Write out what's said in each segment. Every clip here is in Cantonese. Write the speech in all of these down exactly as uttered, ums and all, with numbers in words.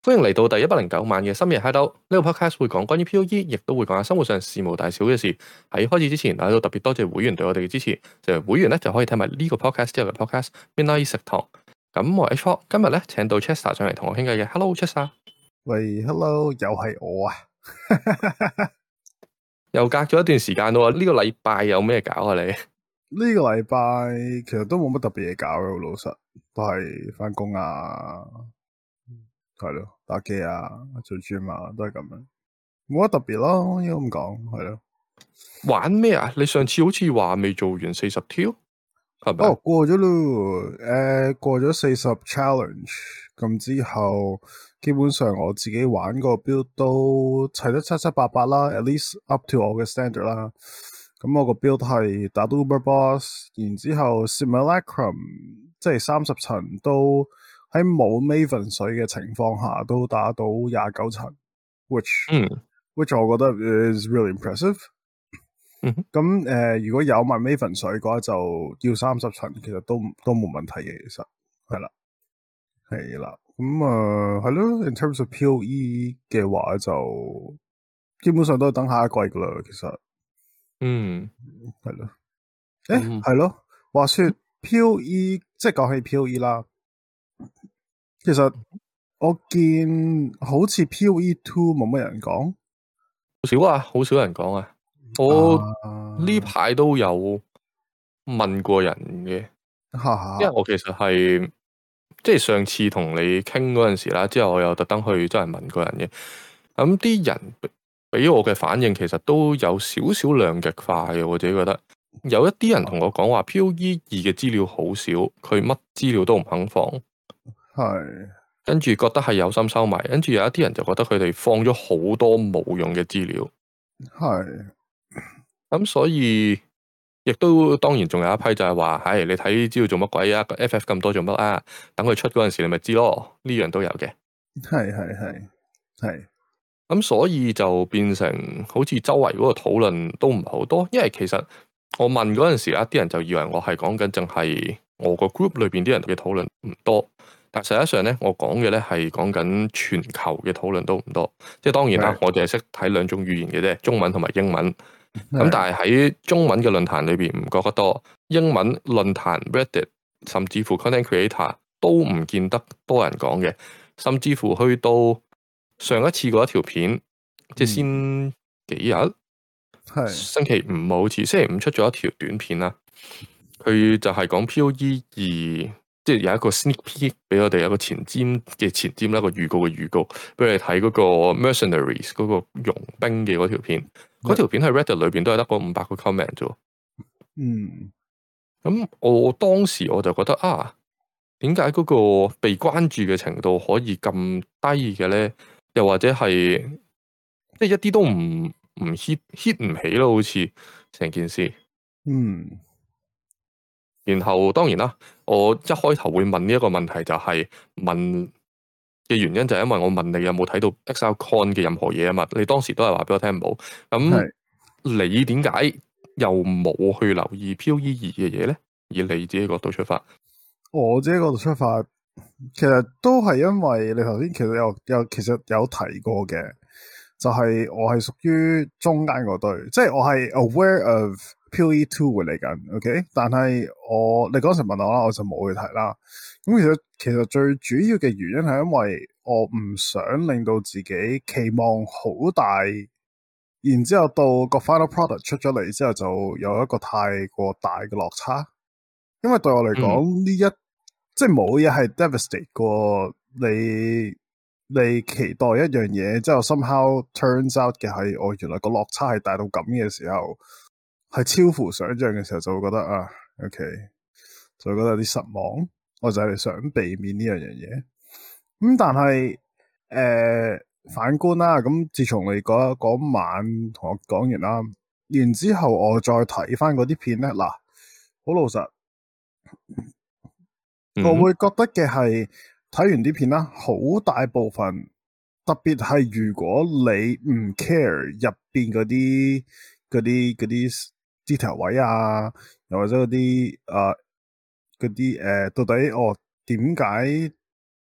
歡迎嚟到第一百零九晚嘅深夜 Hideout。呢個 podcast 會講關於 P O E，亦都會講下生活上事無大小嘅事。喺開始之前，喺度特別多謝會員對我哋嘅支持。就係會員咧就可以睇埋呢個 podcast 之後嘅 podcast Midnight 食堂。咁我係 H 今日咧請到 Chester 上嚟同我傾偈嘅。Hello Chester， 喂 ，Hello，又係我啊！ 又隔咗一段時間咯。呢、這個禮拜有咩搞啊？你呢個禮拜其實都冇乜特別嘢搞嘅，老實都係翻工啊，係咯，打機啊，做 gym 啊，都係咁樣，冇乜特別咯，應該咁講，係咯。玩咩啊？你上次好似話未做完四十挑，係咪？ 哦，過咗咯，誒、呃，過咗四十 challenge，咁之後基本上我自己玩個 build 都砌得七七八八啦 ，at least up to 我嘅 standard 啦。咁我個 build 係打到 Uber Boss，然之後 Simulacrum 即係三十層都喺冇 Maven 水嘅情況下都打到廿九層 ，which、嗯、which 我覺得 is really impressive。咁、嗯、誒、呃，如果有埋 Maven 水嘅話，就要三十層，其實都都冇問題嘅，其實係啦，係啦。咁啊，係、呃、咯。In terms of P O E 嘅話，就基本上都係等下一季噶啦，其實。嗯，係咯，誒，係、嗯、咯，話說 P O E，即係講起 P O E 啦，其實我見好似 P O E two 冇乜人講， 好少啊，好少人講啊，我呢排都有問過人嘅、啊，因為我其實係即係上次同你傾嗰陣時啦，之後我又特登去真係問過人嘅，咁啲人俾我嘅反應其實都有少少兩極化嘅，我自己覺得有一啲人同我講話 P O E 二嘅資料好少，佢乜資料都唔肯放， 係跟住覺得係有心收埋，跟住有一啲人就覺得佢哋放咗好多冇用嘅資料， 係咁所以亦都當然仲有一批就係話，唉，你睇資料做乜鬼啊？個 F F 咁多做乜啊？等佢出嗰陣時你咪知咯，呢樣都有嘅， 係係係係。 咁所以就變成好似周圍嗰個討論都唔係好多，因為其實我問嗰陣時啦，啲人就以為我係講緊淨係我個 group 裏邊啲人嘅討論唔多，但實際上咧，我講嘅咧係講緊全球嘅討論都唔多。即係當然啦，我哋係識睇兩種語言嘅啫，中文同埋英文。咁但係喺中文嘅論壇裏邊唔覺得多，英文論壇 Reddit 甚至乎 Content Creator 都唔見得多人講嘅，甚至乎去到上一次嗰一條片，嗯、即係先幾日，星期五好似星期五出咗一條短片啦。佢就係講 P O E 二，即係有一個 sneak peek 俾我哋有一個前瞻嘅前瞻啦，一個預告嘅預告，俾我哋睇嗰個 Mercenaries 嗰個傭兵嘅嗰條片。嗰條片喺 Reddit 裏邊都係得嗰五百個 comment 啫。嗯，咁我當時我就覺得啊，點解嗰個被關注嘅程度可以咁低嘅咧？又或者係即係一啲都唔唔 hit hit 唔起咯，好似成件事。嗯，然後當然啦，我一開頭會問呢一個問題，就係問嘅原因就係因為我問你有冇睇到 ExileCon 嘅任何嘢啊嘛？你當時都係話俾我聽冇。咁你點解又冇去留意 P O E 二嘅嘢咧？以你自己角度出發， 我自己角度出發。其實都係因為你頭先其實有有其實有提過嘅，就係、是、我係屬於中間嗰隊，即係我係 aware of P O E two 會嚟緊，OK？但係我你嗰時問我啦，我就冇去睇啦。咁其實其實最主要嘅原因係因為我唔想令到自己期望好大，然之後到個 final product 出咗嚟之後就有一個太過大嘅落差，因為對我嚟講呢一即係冇嘢係 devastate 過你，你期待一樣嘢，之後 somehow turns out 嘅係，我原來個落差係大到咁嘅時候，係超乎想象嘅時候，就會覺得啊 ，OK，就會覺得有啲失望。我就係想避免呢樣嘢。咁、嗯、但係誒、呃、反觀啦，咁自從你嗰嗰晚同我講完啦，然之後我再睇翻嗰啲片咧，嗱，好老實。我會覺得嘅係睇完啲片啦，好大部分，特別係如果你唔 care 入邊嗰啲嗰啲嗰啲 detail 位啊，又或者嗰啲誒嗰啲誒到底哦點解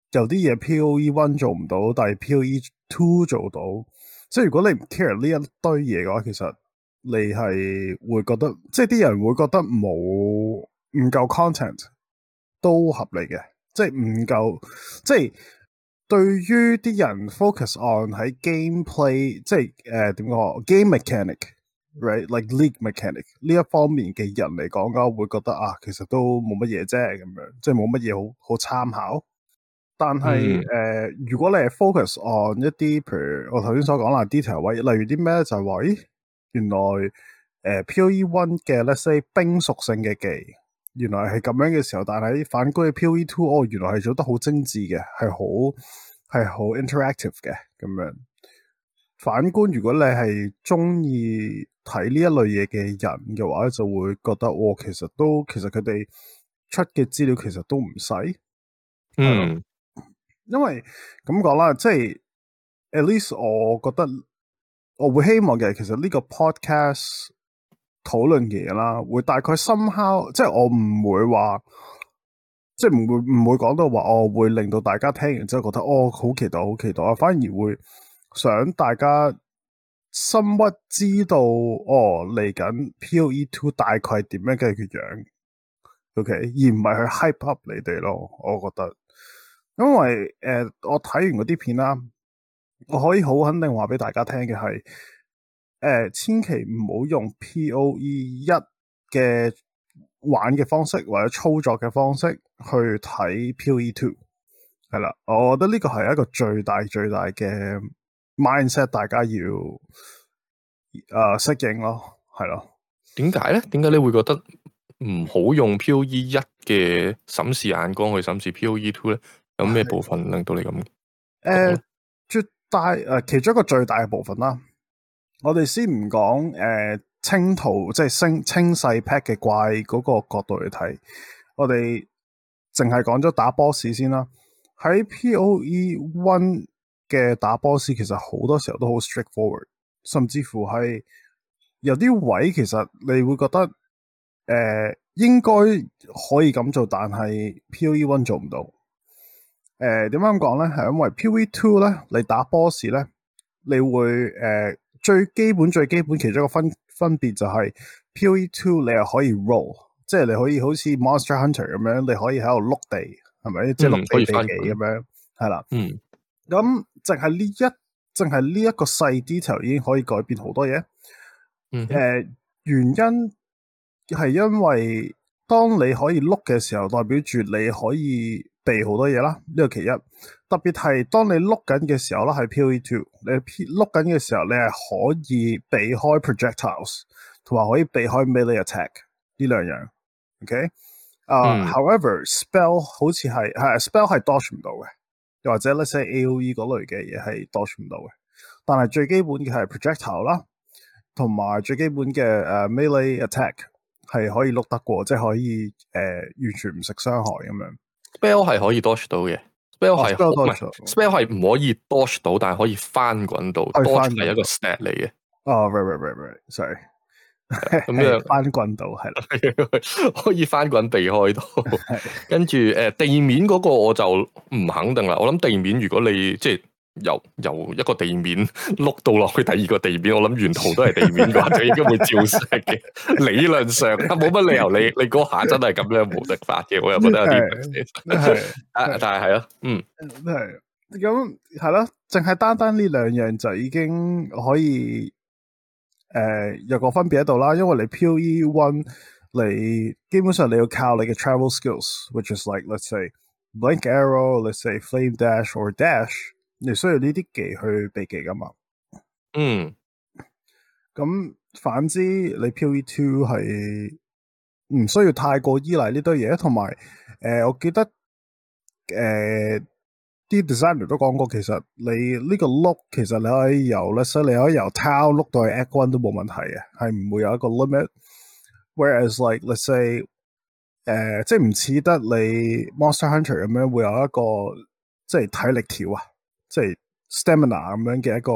有啲嘢 PoE one 做唔到，但係 PoE two 做到。即係如果你唔 care 呢一堆嘢嘅話，其實你係會覺得，即係啲人會覺得冇唔夠 content 都合理嘅，即係唔夠，即係對於啲人 focus on 喺 gameplay，即係誒點講 game mechanic，right，like league mechanic 呢一方面嘅人嚟講嘅話，會覺得啊，其實都冇乜嘢啫咁樣，即係冇乜嘢好好參考。但係誒、嗯呃，如果你係 focus on 一啲，譬如我頭先所講啦 detail 位，例如啲咩就係話，咦，原來誒、呃、PoE one 嘅 let's say 冰屬性嘅技，原來係咁樣嘅時候，但係反觀嘅 PoE two，哦，原來係做得好精緻嘅，係好係好 interactive 嘅咁樣。反觀如果你係中意睇呢一類嘢嘅人嘅話，就會覺得，哦，其實都其實佢哋出嘅資料其實都唔細， 嗯。 因為咁講啦，即係 at least 我覺得我會希望嘅，其實呢個 podcast 討論嘅嘢啦，會大概 somehow，即係我唔會話，即係唔會唔會講到話，我會令到大家聽完之後覺得哦好期待好期待啊，反而會想大家深屈知道哦嚟緊 PoE two 大概係點樣嘅樣 ，OK，而唔係去 hype up 你哋咯，我覺得。因為誒、呃，我睇完嗰啲片啦，我可以好肯定話俾大家聽嘅係，誒、呃，千祈唔好用 PoE 一嘅玩嘅方式或者操作嘅方式去睇 PoE two，係啦，我覺得呢個係一個最大最大嘅 mindset，大家要誒、呃、適應咯，係咯。點解咧？點解你會覺得唔好用 PoE 一嘅審視眼光去審視 PoE two 咧？有咩部分令到你咁？誒、 呃，絕大誒、呃，其中一個最大嘅部分啦。我哋先唔講誒清圖，即係清清細 pack 嘅怪嗰個角度嚟睇，我哋淨係講咗打 boss 先啦。喺 PoE one 嘅打 boss 其實好多時候都好 straightforward，甚至乎係有啲位其實你會覺得誒、呃、應該可以咁做，但係 PoE one 做唔到。誒，點解咁講咧？係因為 PoE two 咧，你打 boss 咧，你會誒、呃、最基本最基本其中一個分分別就係 PoE two 你係可以 roll，即係你可以好似 Monster Hunter 咁樣，你可以喺度碌地，係咪？即係碌地地地咁樣，係啦。嗯。咁淨係呢一淨係呢一個細 detail 已經可以改變好多嘢。嗯。誒、呃，原因係因為當你可以碌嘅時候，代表住你可以避好多嘢啦，呢個其一。特別係當你碌緊嘅時候啦，喺 PoE two，你碌緊嘅時候，你係可以避開 projectiles，同埋可以避開 melee attack 呢兩樣。OK，啊、uh, 嗯、，however spell 好似係係 spell 係 dodge 唔到嘅，又或者 let's say A O E 嗰類嘅嘢係 dodge 唔到嘅。但係最基本嘅係 projectile 啦，同埋最基本嘅誒、uh, melee attack 係可以碌得過，即係可以誒、呃、完全唔食傷害咁樣。 spell 係可以 dodge 到嘅 spell 係唔係 spell 係唔可以 dodge 到，但係可以翻滾到 dodge 係一個 stat 嚟嘅。 哦 right right right right sorry 咁樣翻滾到係啦， 可以翻滾避開到。跟住誒地面嗰個我就唔肯定啦。我諗地面如果你即係由由一個地面碌到落去第二個地面，我諗沿途都係地面嘅話，就應該會照射嘅。理論上冇乜理由你你嗰下真係咁樣無敵法嘅，我又覺得有啲係但係係咯，嗯， 係咁係咯，淨係單單呢兩樣就已經可以誒、呃、有個分別喺度啦。因為你 PoE one 你基本上你要靠你嘅 travel skills，which is like let's say blink arrow，let's say flame dash or dash。你需要呢啲技去避技噶嘛？嗯，咁反之，你 PoE two 係唔需要太過依賴呢堆嘢，同埋誒，我記得誒啲、呃、designer 都講過，其實你呢個碌其實你可以由咧，所以你可以由 town 碌到去 Act One 都冇問題嘅，係唔會有一個 limit。Whereas like let's say 誒、呃，即係唔似得你 Monster Hunter 咁樣會有一個即係體力條啊。即係 stamina 咁樣嘅一個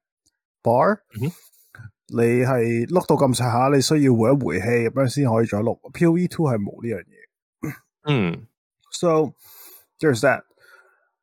bar，、嗯、你係碌到咁上下，你需要回一回氣咁樣先可以再碌。PoE two 係冇呢樣嘢。嗯 ，so there's that。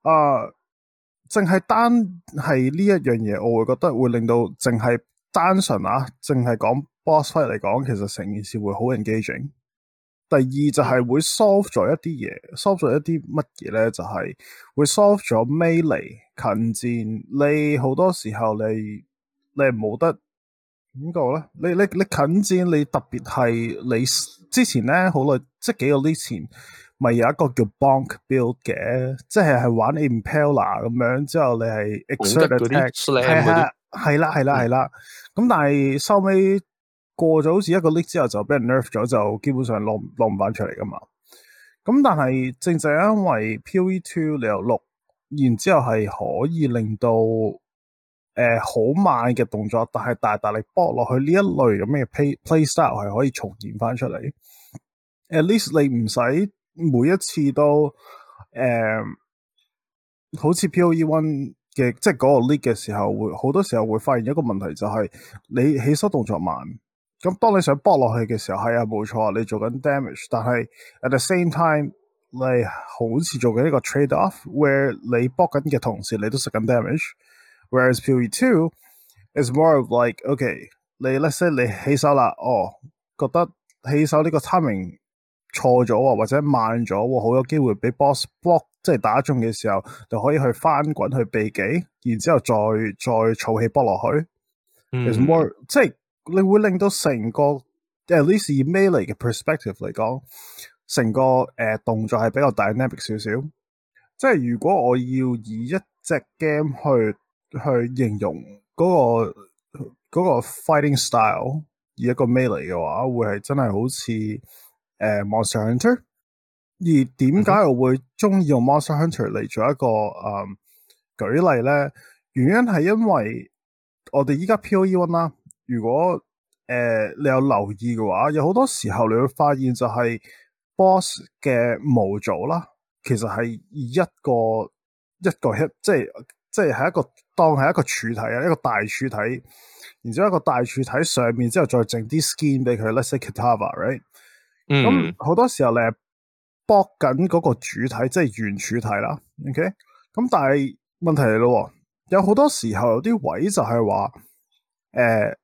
啊，淨係單係呢一樣嘢，我會覺得會令到淨係單純啊，淨係講 boss fight 嚟講，其實成件事會好 engaging。第二就係會 solve 咗一啲嘢，solve 咗一啲乜嘢咧？就係、是、會 solve 咗 melee 近戰。你好多時候你你冇得點講咧？你你你近戰，你特別係你之前咧好耐，即係幾個月前，咪有一個叫 bonk build 嘅，即係係玩 Impaler 咁樣，之後你係 exert attack，係係係啦係啦係啦。咁、嗯、但係收尾過咗好似一個 league 之後就俾人 nerf 咗，就基本上攞攞唔翻出嚟噶嘛。咁但係正正因為 PoE two 你有六，然之後係可以令到誒好、呃、慢嘅動作，但係大大力搏落去呢一類咁嘅 play play style 係可以重現翻出嚟。At least 你唔使每一次都誒、呃、好似 PoE one 嘅即係嗰個 league 嘅時候，會好多時候會發現一個問題，就係你起手動作慢。咁當你想搏落去嘅時候，係啊冇錯，你做緊 damage， 但係 at the same time 你好似做緊一個 trade off，where 你搏緊嘅同時你都食緊 damage。Whereas PoE two is more of like okay， 你 let's say 你起手啦，哦覺得起手呢個 timing 錯咗啊，或者慢咗，好有機會俾 boss block， 即係打中嘅時候就可以去翻滾去避己，然之後再再儲氣搏落去。 嗯 is more 即係。你會令到成個 at least 以 melee 嘅 perspective 嚟講，成個誒、呃、動作係比較 dynamic 少少。即係如果我要以一隻 game 去去形容嗰、那個嗰、那個 fighting style，以一個 melee 嘅話，會係真係好似誒、呃、Monster Hunter。而點解我會中意用 Monster Hunter 嚟做一個誒、呃、舉例咧？原因係因為我哋依家 PoE one 啦。如果誒、呃、你有留意嘅話，有好多時候你會發現就係 boss 嘅模組啦，其實係一個一個 hit，即係即係係一個當係一個柱體啊，一個大柱體，然之後一個大柱體上面之後再整啲 skin 俾佢 let's say Kitava，right？咁好、嗯、多時候你係搏緊嗰個主體，即係圓柱體啦。OK，咁但係問題嚟咯，有好多時候有啲位就係話誒。呃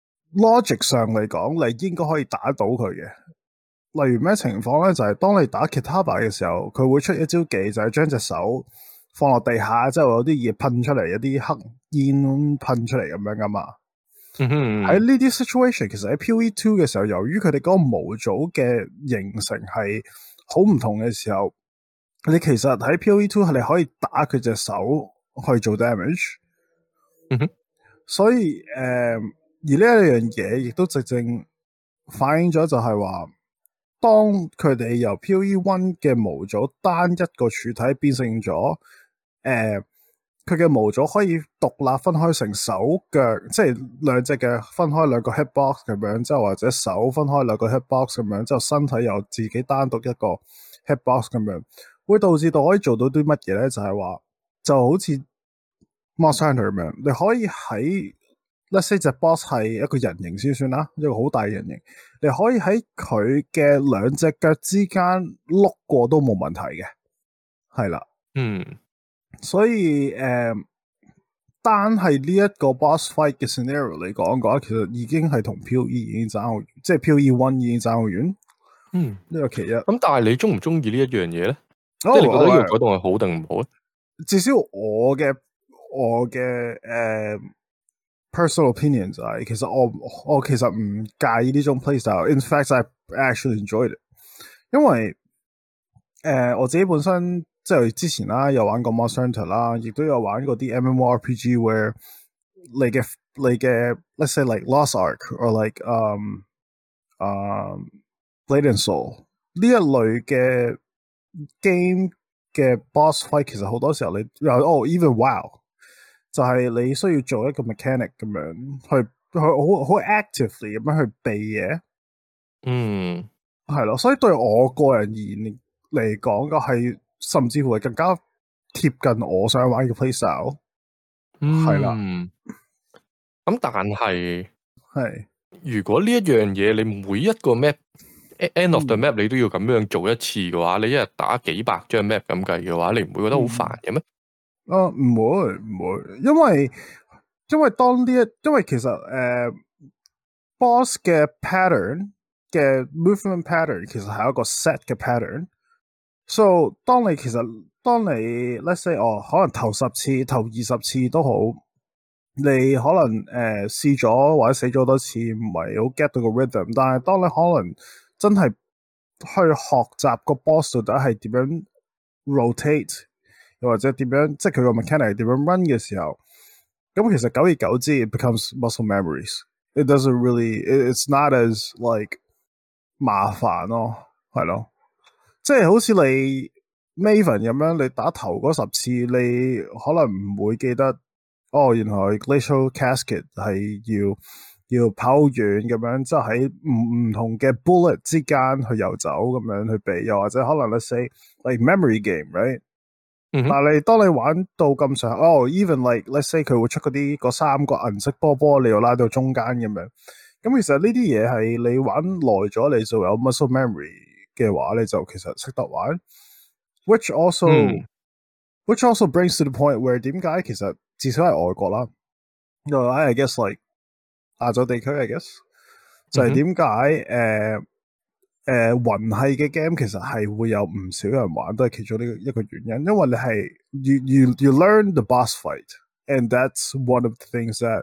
logic 上嚟講，你應該可以打到佢嘅。例如咩情況咧？就係、是、當你打 Kitava 嘅時候，佢會出一招技，就係將隻手放落地下，之後有啲嘢噴出嚟，有啲黑煙噴出嚟咁樣噶嘛。喺呢啲 situation，其實喺 PoE two 嘅時候，由於佢哋嗰個模組嘅形成係好唔同嘅時候，你其實喺 PoE two 係你可以打佢隻手去做 damage。嗯哼，所以誒。呃而呢一樣嘢亦都直正反映咗，就係話，當佢哋由 PoE one 嘅模組單一個柱體變成咗，誒、呃，佢嘅模組可以獨立分開成手腳，即係兩隻嘅分開兩個 hitbox 咁樣，之後或者手分開兩個 hitbox 咁樣，之後身體又自己單獨一個 hitbox 咁樣，會導致到可以做到啲乜嘢咧？就係、是、話，就好似 Monster Hunter 咁樣，你可以喺Let's say 隻 boss 係一個人形先算啦，一個好大嘅人形，你可以喺佢嘅兩隻腳之間碌過都冇問題嘅，係啦，嗯，所以誒、呃，單係呢一個 boss fight 嘅 scenario 嚟講嘅話，其實已經係同 PoE 已經爭好遠，即係 PoE one 已經爭好遠，嗯，呢個其一。咁但係你中唔中意呢一樣嘢咧？即係你覺得呢個改動係好定唔好咧？ 至少我嘅我嘅誒。呃 personal opinion 就係，其實我我其實唔介意呢種 playstyle。In fact, I actually enjoyed it。因為誒、呃、我自己本身即係之前啦，有玩過 Monster Hunter 啦，亦都有玩過啲 MMORPG，where 你嘅你嘅 let's say like Lost Ark or like um um Blade and Soul 呢一類嘅 game 嘅 boss fight，其實好多時候你哦 even WoW。就係你需要做一個 mechanic 咁樣去去好好 actively 咁樣去避嘢，嗯，係咯，所以對我個人而言嚟講嘅係，甚至乎係更加貼近我想玩嘅 playstyle，係啦。 咁但係係如果呢一樣嘢你每一個 map end of the map 你都要咁樣做一次嘅話，你一日打幾百張 map 咁計嘅話，你唔會覺得好煩嘅咩？ 啊，唔會唔會，因為因為當呢一，因為其實誒、呃、boss 嘅 pattern 嘅 movement pattern 其實係一個 set 嘅 pattern，so 當你其實當你 let's say 哦，可能頭十次、頭二十次都好，你可能誒、呃、試咗或者死咗多次，唔係好 get 到個 rhythm，但係當你可能真係去學習個 boss 到底係點樣 rotate，又或者點樣，即係佢個 mechanic 點樣 run 嘅時候，咁其實久而久之 it becomes muscle memories。It doesn't really, it's not as like 麻煩咯，係咯，即係好似你 Maven 咁樣，你打頭嗰十次，你可能唔會記得，哦，原來 Glacial Cascade 係要要跑遠咁樣，即係喺唔唔同嘅 bullet 之間去遊走咁樣去避，又或者可能 let's say like memory game，right？ 嗯、 但係當你玩到咁上下，哦、oh,，even like let's say 佢會出嗰啲嗰三個銀色波波，你要拉到中間咁樣。咁其實呢啲嘢係你玩耐咗，你就有 muscle memory 嘅話，你就其實識得玩。Which also,、嗯、which also brings to the point where 點解其實至少係外國啦，因為 I guess like 亞洲地區 I guess 就係點解誒？誒魂系嘅 game 其實係會有唔少人玩，都係其中呢個一個原因，因為你係 you you you learn the boss fight，and that's one of the things that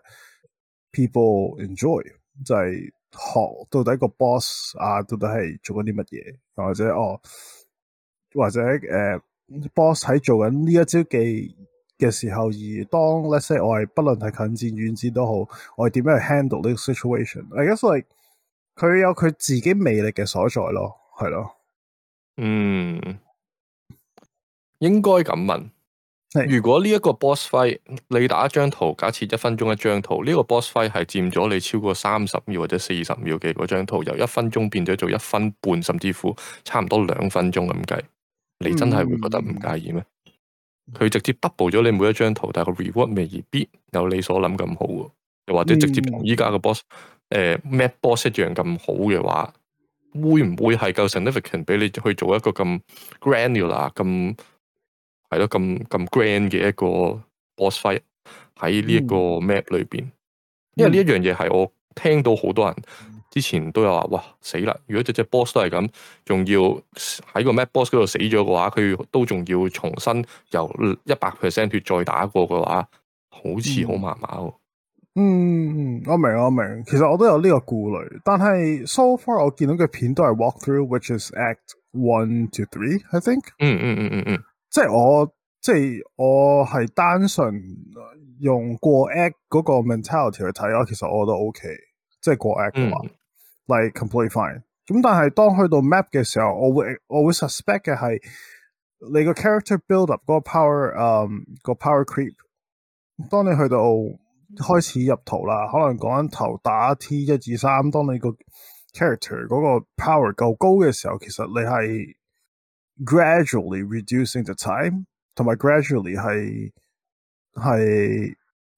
people enjoy，就係學到底個 boss 啊，到底係做緊啲乜嘢，或者哦，或者誒、呃、boss 喺做緊呢一招技嘅時候，而當 let's say 我係不論係近戰遠戰都好，我係點樣去 handle 呢個 situation？I guess like 佢有佢自己魅力嘅所在咯，係咯。 嗯，應該咁問。如果呢一個 boss fight 你打一張圖，假設一分鐘一張圖，呢、這個 boss fight 係佔咗你超過三十秒或者四十秒嘅嗰張圖，由一分鐘變咗做一分半，甚至乎差唔多兩分鐘咁計，你真係會覺得唔介意咩？佢、嗯、直接 double 咗你每一張圖，但係個 reward 未必有你所諗咁好喎，又或者直接同依家嘅 boss 誒、呃、map boss 一樣咁好嘅話，會唔會係夠 significant 俾你去做一個咁 granular 咁？係咯，咁咁 grand 嘅一個 boss fight 喺呢一個 map 裏邊，嗯、因為呢一樣嘢係我聽到好多人之前都有話，哇死啦！如果隻隻 boss 都係咁，仲要喺個 map boss 嗰度死咗嘅話，佢都仲要重新由一百 percent 血再打過嘅話，好似好麻麻喎。 嗯，我明我明，其實我都有呢個顧慮，但係 so far 我見到嘅片都係 walk through，which is act one to three，I think。 嗯嗯嗯嗯嗯。 即係我，即係我係單純用過 act 嗰個 mentality 去睇，我其實我覺得 OK，即係過 act 嘅話、嗯、like completely fine。咁但係當去到 map 嘅時候，我會我會 suspect 嘅係你個 character build up 嗰個 power，嗯、um, 個 power creep。當你去到開始入圖啦，可能講緊頭打 T 一二三，當你個 character 嗰個 power 夠高嘅時候，其實你係gradually reducing the time， 同埋 gradually 係係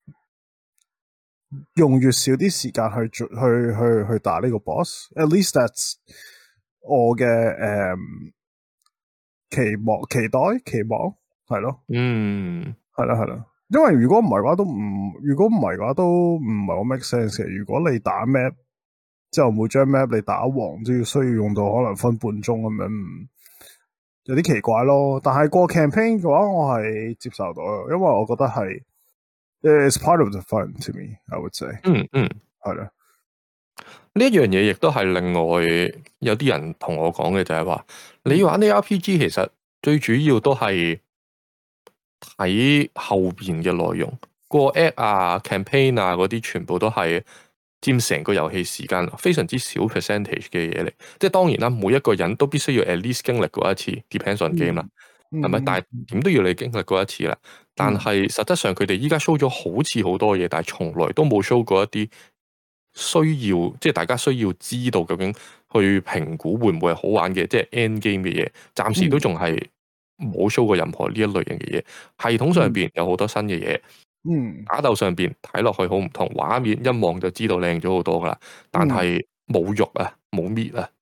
用越少啲時間去去去去打呢個 boss。At least that's 我嘅誒、um, 期望、期待、期望係咯。 嗯， 係啦係啦。因為如果唔係嘅話都唔，如果唔係嘅話都唔係好 make sense 嘅。如果你打 map 之後每張 map 你打王都要需要用到可能分半鐘咁樣。有啲奇怪咯，但係過 campaign 嘅話，我係接受到，因為我覺得係 it's part of the fun to me，I would say。 嗯嗯， 係啦。 呢一樣嘢亦都係另外有啲人同我講嘅就係話，你玩啲 R P G 其實最主要都係睇後邊嘅內容，過 act 啊、campaign 啊嗰啲全部都係佔成個遊戲時間非常之少 percentage 嘅嘢嚟，即係當然啦，每一個人都必須要 at least 經歷過一次 depends on game 啦，係咪？但係點都要你經歷過一次啦。但係實質上佢哋依家 show 咗好似好多嘢，但係從來都冇 show 過一啲需要，即係大家需要知道究竟去評估會唔會係好玩嘅，即係 end game 嘅嘢，暫時都仲係冇 show 過任何呢一類型嘅嘢。系統上邊有好多新嘅嘢。嗯，打鬥上邊睇落去好唔同，畫面一望就知道靚咗好多噶啦，但係冇肉啊，冇 meat 啊。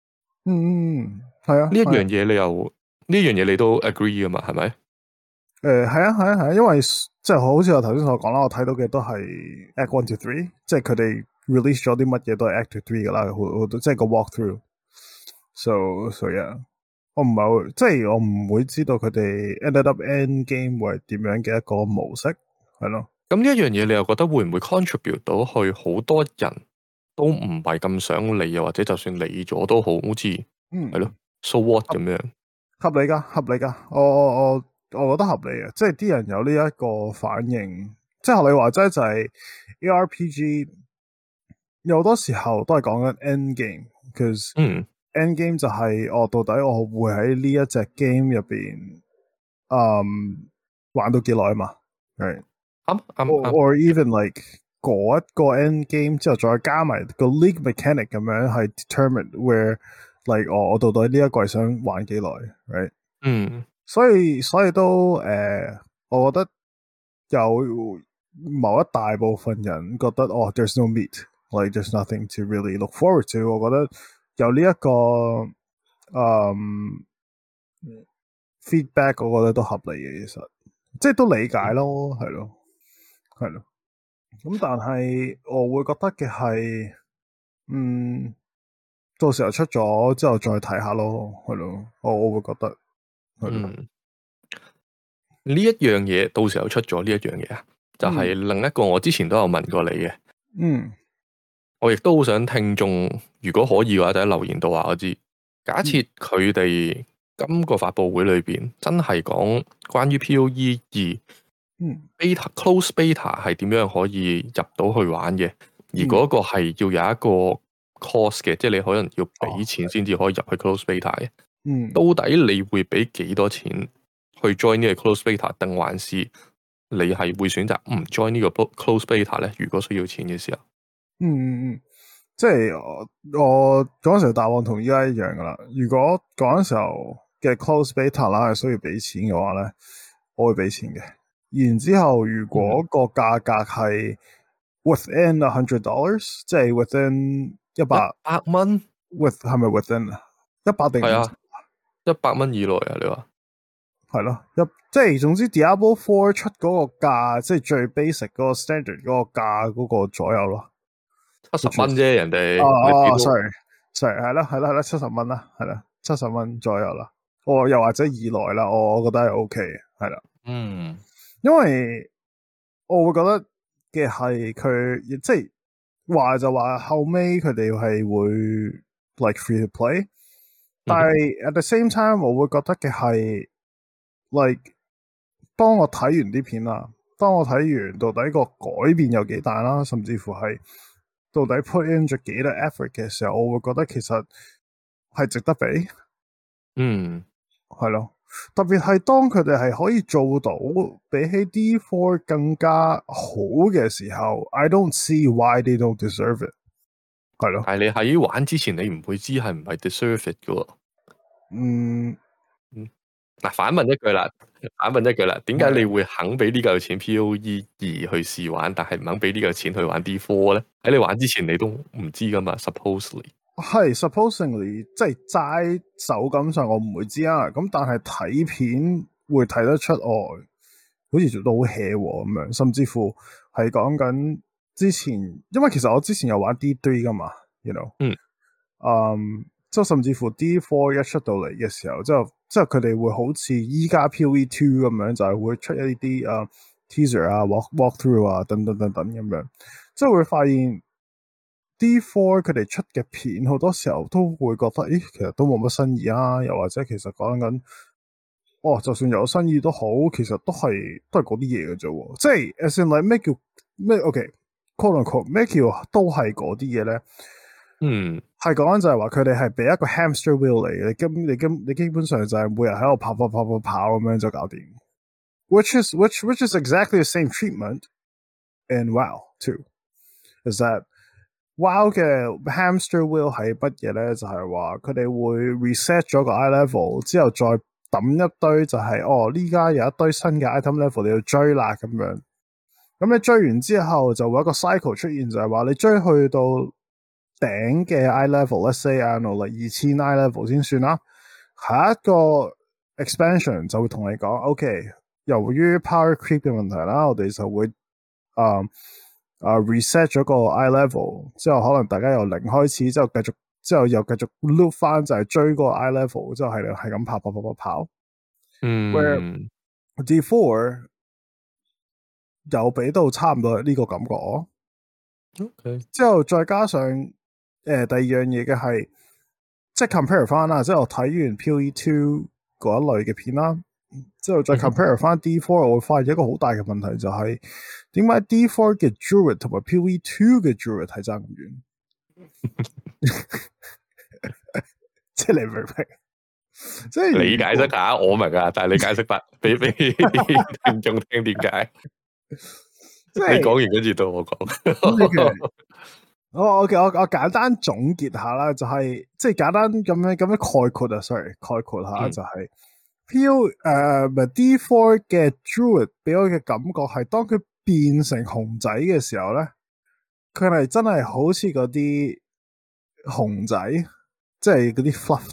嗯嗯，係啊， 呢一樣嘢你又呢樣嘢你都 agree 噶嘛？係咪？ 誒，係啊，係啊，係啊，因為即係好似我頭先所講啦，我睇到嘅都係 Act One to Three，即係佢哋 release 咗啲乜嘢都係 Act Two Three 噶啦，好好即係個 walkthrough。So so yeah，我唔係好，即係我唔會知道佢哋 ended up end game 會係點樣嘅一個模式，係咯。 咁呢一樣嘢你又覺得會唔會 contribute 到去好多人都唔係咁想理，又或者就算理咗都好，好似嗯係咯，so what 咁樣？ 合理噶，合理噶，我我我我覺得合理嘅，即係啲人有呢一個反應，即係學你話齋就係 A R P G 有好多時候都係講緊 end game，cause 嗯 end game 就係我到底我會喺呢一隻 game 入邊，嗯，玩到幾耐啊嘛，係啱啱啱， or even like 嗰一個 end game 之後再加埋個 league mechanic 咁樣係 determine where like 我我到底呢一季想玩幾耐，right？ 嗯， 所以所以都誒、呃，我覺得有某一大部分人覺得哦，there's no meat，like there's nothing to really look forward to。我覺得有呢、這、一個嗯 feedback，我覺得都合理嘅，其實即係都理解咯，係咯，係咯。咁但係我會覺得嘅係，嗯，到時候出咗之後再睇下咯，係咯，我我會覺得，係咯。 嗯，呢一樣嘢到時候出咗呢一樣嘢啊，就係、是、另一個我之前都有問過你嘅， 嗯， 我亦都好想聽眾如果可以嘅話，就喺留言度話我知。假設佢哋今個發佈會裏邊真係講關於 PoE 二。 嗯 beta close beta 係點樣可以入到去玩嘅？而嗯嗰個係要有一個 cost 嘅，即係你可能要俾錢先至可以入去 close beta 嘅。 嗯， 到底你會俾幾多錢去 join 呢個 close beta，定還是你係會選擇唔 join 呢個 close beta 咧？如果需要錢嘅時候， 嗯嗯嗯，即係我我嗰陣時答案同依家一樣噶啦。如果嗰陣時候嘅 close beta 啦係需要俾錢嘅話咧，我會俾錢嘅。然之後，如果個價格係 within a hundred dollars，即係 within 一百百蚊 ，with 係咪 within 啊？一百定係啊，一百蚊以內啊？你話係咯，一即係總之 Diablo Four 出嗰個價，即係最 basic 嗰個 standard 嗰個價嗰個左右咯， 七十蚊啫，人哋哦哦，sorry，sorry，係啦係啦係啦，七十蚊啦，係啦，七十蚊左右啦，哦，又或者以內啦，我我覺得係 OK 嘅，係啦， 嗯。 因為我會覺得嘅係佢即係話就話後尾佢哋係會 like free to play，但係 at the same time 我會覺得嘅係 like 當我睇完啲片啦，當我睇完到底個改變有幾大啦，甚至乎係到底 put in 咗幾多 effort 嘅時候，我會覺得其實係值得俾， 嗯， 係咯。特別係當佢哋係可以做到比起 D four 更加好嘅時候 ，I don't see why they don't deserve it。係咯， 但係你喺玩之前，你唔會知係唔係 deserve it 噶。 嗯嗯，嗱，反問一句啦，反問一句啦，點解你會肯俾呢嚿錢 PoE 二去試玩，但係唔肯俾呢嚿錢去玩 D four 咧？喺你玩之前，你都唔知噶嘛 ？Supposedly 係 supposingly 即係齋手感上我唔會知啊，咁但係睇片會睇得出哦，好似做到好 hea 咁樣，甚至乎係講緊之前，因為其實我之前有玩 D three 噶嘛，you know， 嗯， 嗯，即係甚至乎 D four 一出到嚟嘅時候，之後之後佢哋會好似依家 PoE two 咁樣，就係、是、會出一啲誒 teaser 啊、walk walk through 啊等等等等咁樣，即係會發現。D four 佢哋出嘅片好多時候都會覺得，咦，其實都冇乜新意啊，又或者其實講緊，哦，就算有新意都好，其實都係都係嗰啲嘢嘅啫，即係 as in like 咩叫咩 OK，quote unquote 咩叫都係嗰啲嘢咧？ 嗯，係講緊就係話佢哋係俾一個 hamster wheel 嚟，你基你基你基本上就係每日喺度跑跑跑跑跑咁樣就搞掂，which is which which is exactly the same treatment in WoW too，is that WoW 嘅 hamster wheel 係乜嘢咧？就係話佢哋會 reset 咗個 eye level 之後再抌一堆就係、是、哦呢家有一堆新嘅 item level 你要追啦咁樣。咁你追完之後就會有一個 cycle 出現，就係話你追去到頂嘅 eye level，let's say 啊，攞嚟二千 eye level 先算啦。下一個 expansion 就會同你講 ，OK， 由於 power creep 嘅問題啦，我哋就會啊啊 reset 咗個 eye level，之後可能大家由零開始，之後繼續，之後又繼續 loop 翻就係追嗰個 eye level，之後係係咁跑跑跑跑跑。 嗯 Where D four 有俾到差唔多呢個感覺。 OK， 之後再加上誒、呃、第二樣嘢嘅係，即係 compare 翻啦，即係我睇完 PoE two 嗰一類嘅片啦，之後再 compare 翻 D four， 我會發現一個好大嘅問題就係點解 D four 嘅 Druid 同埋 PoE two 嘅 Druid 係爭咁遠？即係你明唔明？即係你解釋下，我明啊，但係你解釋白俾俾聽眾聽點解？即係你講完跟住到我講。 我我我我簡單總結下啦，就係、是、即係簡單咁樣咁樣概括啊 ，sorry 概括下、嗯、就係、是、P O 誒、uh, D four 嘅 Druid 俾我嘅感覺係，當佢變成熊仔嘅時候咧，佢係真係好似嗰啲熊仔，即係嗰啲 fluff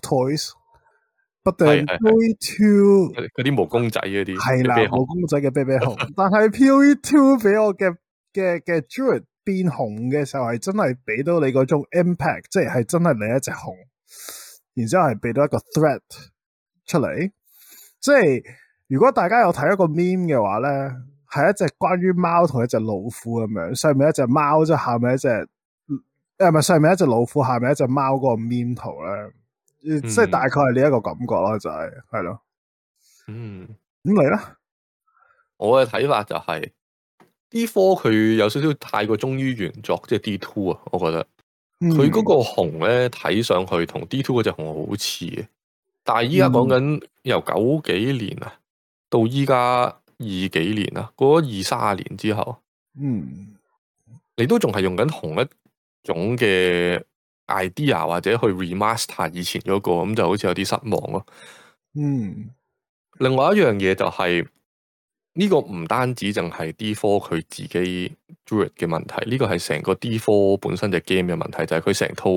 toys。But then PoE two 嗰啲毛公仔嗰啲係啦，毛公仔嘅啤啤熊，但係 PoE two 俾我嘅嘅嘅 Druid 變熊嘅時候係真係俾到你嗰種 impact， 即係係真係你一隻熊，然之後係俾到一個 threat 出嚟。即係如果大家有睇一個 meme 嘅話咧，係一隻關於貓同一隻老虎咁樣，上面一隻貓，即係下面一隻誒，唔係上面一隻老虎，下面一隻貓嗰個 meme 圖咧。嗯、即係大概係呢一個感覺啦，就係係咯。嗯，咁你咧？ 我嘅睇法就係、是、D four 佢有少少太過忠於原作，即係 D two 啊。我覺得佢嗰個熊咧睇上去同 D two 嗰隻熊好似嘅，但係依家講緊由九幾年啊到依家二幾年啊，過咗二三十年之後，嗯，你都仲係用緊同一種嘅 idea 或者去 remaster 以前嗰、那個，咁就好似有啲失望咯。嗯，另外一樣嘢就係、是、呢、這個唔單止淨係 D four 佢自己 Druid 嘅問題，呢、這個係成個 D four 本身隻 game 嘅問題，就係佢成套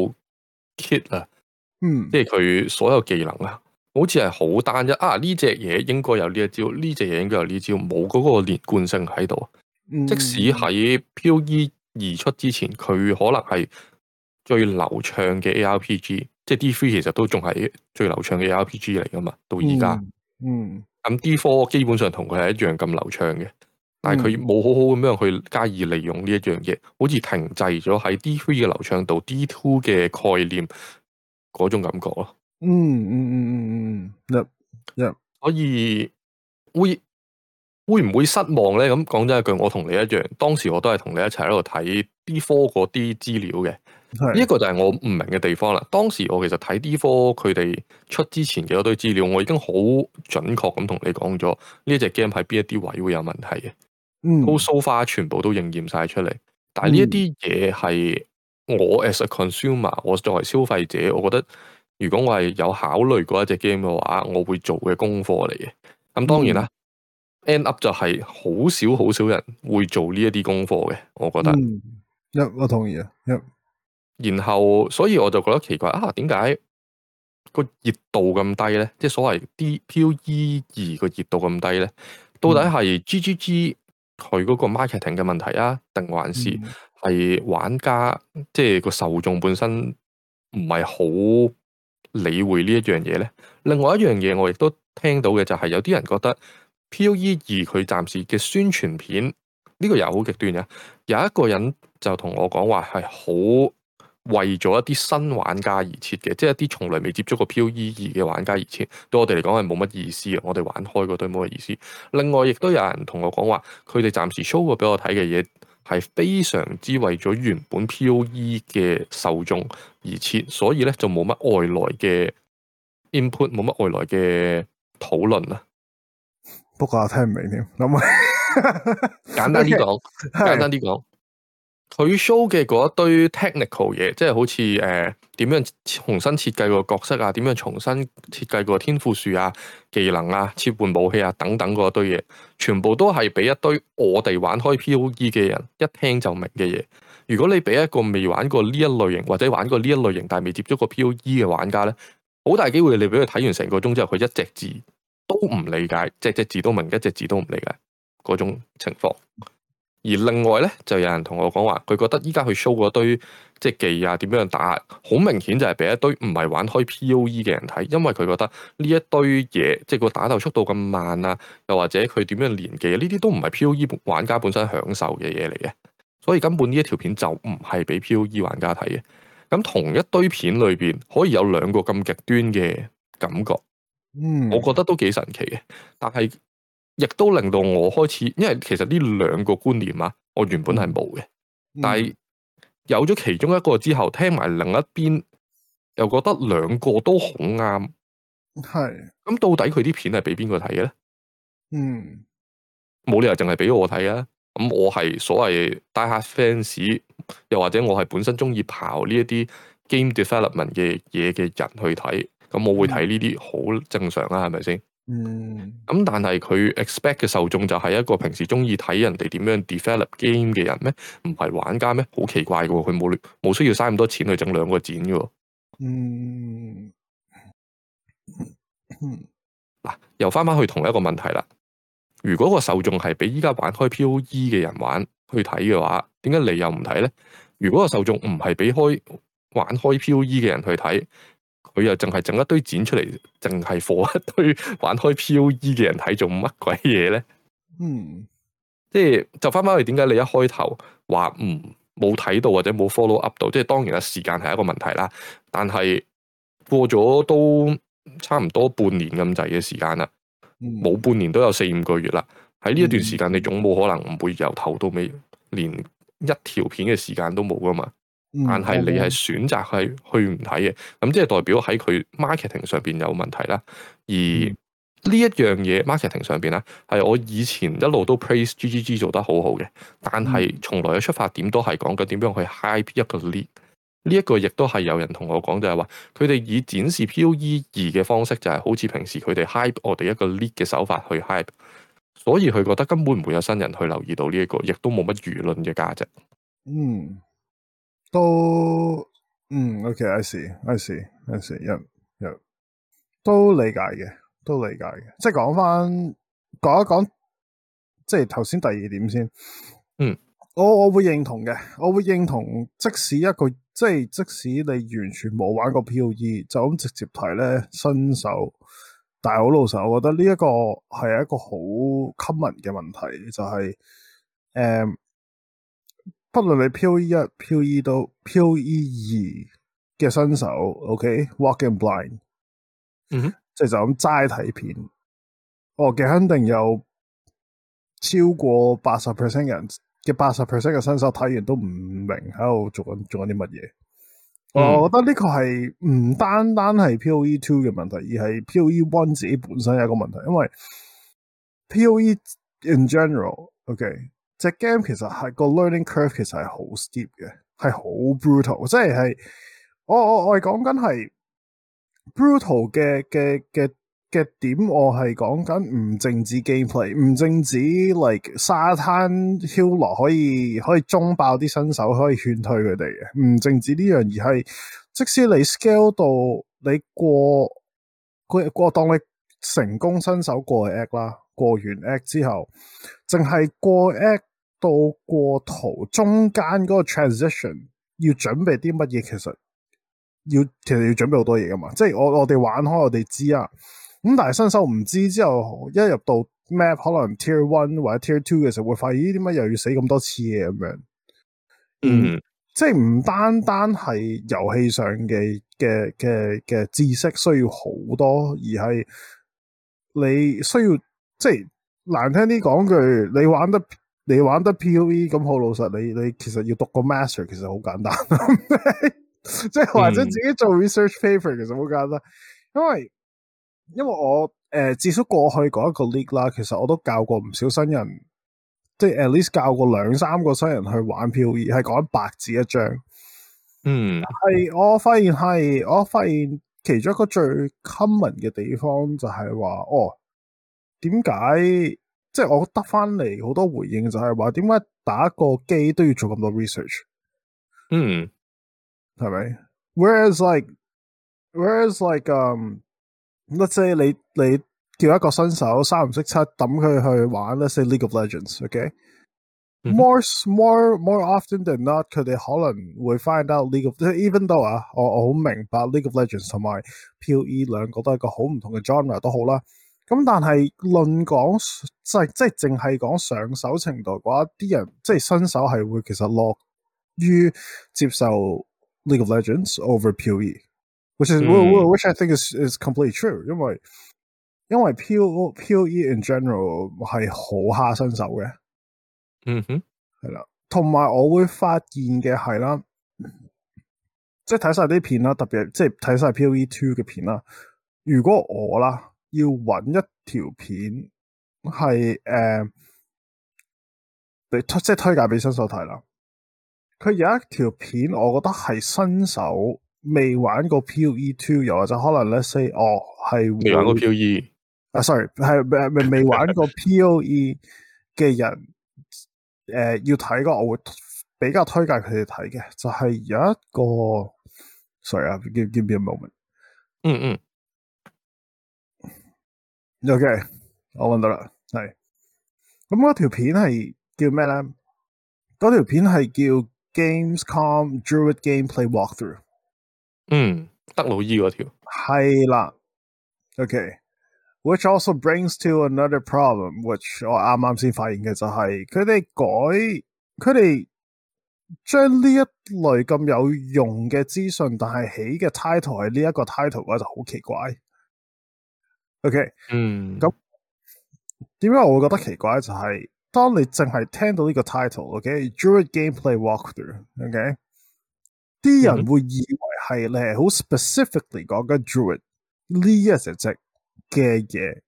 kit 啊，嗯，即係佢所有技能啊，好似係好單一啊。呢隻嘢應該有呢一招，呢隻嘢應該有呢招，冇嗰個連貫性喺度。嗯、即使喺 PoE 二出之前，佢可能係最流暢嘅 A R P G， 即係 D three 其實都仲係最流暢嘅 A R P G 嚟噶嘛，到而家。嗯，咁、嗯、D four 基本上同佢係一樣咁流暢嘅，但係佢冇好好咁樣去加以利用呢一樣嘢，好似停滯咗喺 D three 嘅流暢度 ，D two 嘅概念嗰種感覺咯。嗯嗯嗯嗯嗯嗯，一一，所以會會唔會失望咧？咁講真一句，我同你一樣，當時我都係同你一齊喺度睇 D four 嗰啲資料嘅。呢一個就係我唔明嘅地方啦。當時我其實睇 D four 佢哋出之前嘅嗰堆資料，我已經好準確咁同你講咗呢一隻 game 喺邊一啲位會有問題嘅。嗯，都 so far 全部都應驗晒出嚟。但係呢一啲嘢係我 as a consumer，我作為消費者，我覺得如果我係有考慮過一隻 game 嘅話，我會做嘅功課嚟嘅。咁當然啦、嗯、，end up 就係好少好少人會做呢一啲功課嘅，我覺得。嗯， 一我同意啊，一。 然後，所以我就覺得奇怪啊，點解個熱度咁低咧？即係所謂啲 PoE 二個熱度咁低咧？到底係 G G G 佢嗰個 marketing 嘅問題啊，定還是係玩家、嗯、即係個受眾本身唔係好理會呢一樣嘢咧？另外一樣嘢我亦都聽到嘅就係有啲人覺得 PoE 二佢暫時嘅宣傳片呢、呢個又好極端嘅，有一個人就同我講話係好。為咗一啲新玩家而設嘅，即係一啲從來未接觸過 PoE 二嘅玩家而設，對我哋嚟講係冇乜意思嘅。我哋玩開嗰堆冇乜意思。另外，亦都有人同我講話，佢哋暫時 show 過俾我睇嘅嘢係非常之為咗原本 PoE 嘅受眾而設，所以咧就冇乜外來嘅 input，冇乜外來嘅討論啊。 不過我聽唔明添，諗簡單啲講，簡單啲講。佢 show 嘅嗰一堆 technical 嘢，即係好似誒點樣重新設計個角色啊，點樣重新設計個天賦樹啊、技能啊、切換武器啊等等嗰一堆嘢，全部都係俾一堆我哋玩開 PoE 嘅人一聽就明嘅嘢。 如果你俾一個未玩過呢一類型或者玩過呢一類型但係未接觸過 P O E 嘅玩家咧，好大機會你俾佢睇完成個鐘之後，佢一隻字都唔理解，隻隻字都明，一隻字都唔理解嗰種情況。而另外咧，就有人同我講話，佢覺得依家去 show 嗰堆即係技啊點樣打，好明顯就係俾一堆唔係玩開 P O E 嘅人睇，因為佢覺得呢一堆嘢，即係個打鬥速度咁慢啊，又或者佢點樣連技，呢啲都唔係 P O E 玩家本身享受嘅嘢嚟嘅，所以根本呢一條片就唔係俾 P O E 玩家睇嘅。咁同一堆片裏邊可以有兩個咁極端嘅感覺， 嗯， 我覺得都幾神奇嘅，但係，亦都令到我開始，因為其實呢兩個觀念啊，我原本係冇嘅， 嗯、 但係有咗其中一個之後，聽埋另一邊，又覺得兩個都好啱。 係， 咁到底佢啲片係俾邊個睇嘅咧？ 嗯， 冇理由淨係俾我睇啊！咁我係所謂 die hard fans，又或者我係本身中意刨呢一啲 game development 嘅嘢嘅人去睇，咁我會睇呢啲好正常啊，係咪先？ 嗯， 咁但係佢 expect 嘅受眾就係一個平時中意睇人哋點樣 develop game 嘅人咩？唔係玩家咩？好奇怪嘅喎，佢冇冇需要嘥咁多錢去整兩個展嘅喎。 嗯， 嗱，又翻翻去同一個問題啦。如果個受眾係俾依家玩開 P O E 嘅人玩去睇嘅話，點解你又唔睇咧？如果個受眾唔係俾開玩開 P O E 嘅人去睇，佢又淨係整一堆剪出嚟，淨係貨一堆玩開 P O E 嘅人睇，做乜鬼嘢咧？ 嗯， 即係就翻翻去點解你一開頭話唔冇睇到或者冇 follow up 到？即係當然啦，時間係一個問題啦。但係過咗都差唔多半年咁滯嘅時間啦，冇、嗯、半年都有四五個月啦。喺呢一段時間，你總冇可能唔會由頭到尾連一條片嘅時間都冇噶嘛？但係你係選擇係去唔睇嘅，咁即係代表喺佢 marketing 上邊有問題啦。而呢一樣嘢 marketing 上邊咧，係我以前一路都 praise G G G 做得好好嘅，但係從來嘅出發點都係講緊點樣去 hype 一個 league。呢一個亦都係有人同我講，就係話佢哋以展示 P O E 二嘅方式，就係好似平時佢哋 hype 我哋一個 league 嘅手法去 hype，所以佢覺得根本唔會有新人去留意到呢一個，亦都冇乜輿論嘅價值。 嗯。都嗯 OK，I see，I see，I see，一一都理解嘅，都理解嘅。即係講翻講一講，即係頭先第二點先。 嗯， 我我會認同嘅，我會認同。即使一個即係即使你完全冇玩過 P O E，就咁直接睇咧新手。但係好老實，我覺得呢一個係一個好 common 嘅問題，就係、是、誒。嗯不論你 P O E 一、P O E 到 P O E 二嘅新手 ，OK，walk in blind， 嗯哼， 即係就咁齋睇片，我嘅肯定有超過八十 percent 人嘅八十 percent 嘅新手睇完都唔明喺度做緊做緊啲乜嘢。嗯、我覺得呢個係唔單單係 P O E two 嘅問題，而係 P O E one 自己本身有一個問題，因為 P O E in general，OK。隻 game 其實係個 learning curve 其實係好 steep 嘅，係好 brutal，即係係我我我係講緊係 brutal 嘅嘅嘅嘅點，我係講緊唔淨止 gameplay，唔淨止 like 沙灘 healer 可以可以中爆啲新手，可以勸退佢哋嘅，唔淨止呢樣，而係即使你 scale 到你過過過當你成功新手過 act 啦。過完 act 之後，淨係過 act 到過圖中間嗰個 transition 要準備啲乜嘢？其實要其實要準備好多嘢噶嘛。即係我我哋玩開，我哋知啊。咁但係新手唔知之後，一入到 map 可能 tier one 或者 tier two 嘅時候，會發現呢啲乜又要死咁多次嘅咁樣。嗯，即係唔單單係遊戲上嘅嘅嘅嘅知識需要好多，而係你需要。即係難聽啲講句，你玩得你玩得 P O E 咁好老實，你你其實要讀個 master 其實好簡單，即係或者自己做 research paper 其實好簡單，因為因為我誒、呃、至少過去嗰一個 league 啦，其實我都教過唔少新人，即係 at least 教過兩三個新人去玩 P O E， 係講白紙一張。 嗯， 係我發現係我發現其中一個最 common 嘅地方就係話哦。點解即係我得翻嚟好多回應就係話點解打個機都要做咁多 research？ 嗯， 係咪 ？Whereas like whereas like um let's say 你你叫一個新手三唔識七抌佢去玩 let's say League of Legends，OK？、Okay? 嗯、 More more more often than not，佢哋可能會 find out League of，even though 啊，我我好明白 League of Legends 同埋 P.O.E 兩個都係個好唔同嘅 genre 都好啦。咁但係論講即係即係淨係講上手程度嘅話，啲人即係新手係會其實樂於接受 League of Legends over P.O.E，which is、嗯、which I think is is completely true，因為因為 P.O.E in general 係好蝦新手嘅。 嗯哼， 係啦，同埋我會發現嘅係啦，即係睇晒啲片啦，特別即係睇晒 P.O.E two 嘅片啦。如果我啦要揾一條片係誒，你、呃、即係推介俾新手睇啦。佢有一條片，我覺得係新手未玩過 P.O.E two，又或者可能 let's say 哦係未玩過 P.O.E 啊，sorry 係未未玩過 P.O.E 嘅人。誒、呃，要睇個我會比較推介佢哋睇嘅，就係、是、有一個，sorry 啊，give give me a moment。 嗯嗯。OK，我揾到啦，係。咁嗰條片係叫咩咧？嗰條片係叫 Gamescom Druid Gameplay Walkthrough。 嗯，德魯伊嗰條。 係啦。OK。Which also brings to another problem，which 我啱啱先發現嘅就係佢哋改，佢哋將呢一類咁有用嘅資訊，但係起嘅 title 係呢一個 title 嘅話就好奇怪。OK， 嗯， 咁點解我會覺得奇怪？就係、是、當你淨係聽到呢個 title，OK，Druid、okay? Gameplay Walkthrough，OK，、okay? 啲人會以為係你係好 specifically 講緊 Druid 呢一隻隻嘅嘢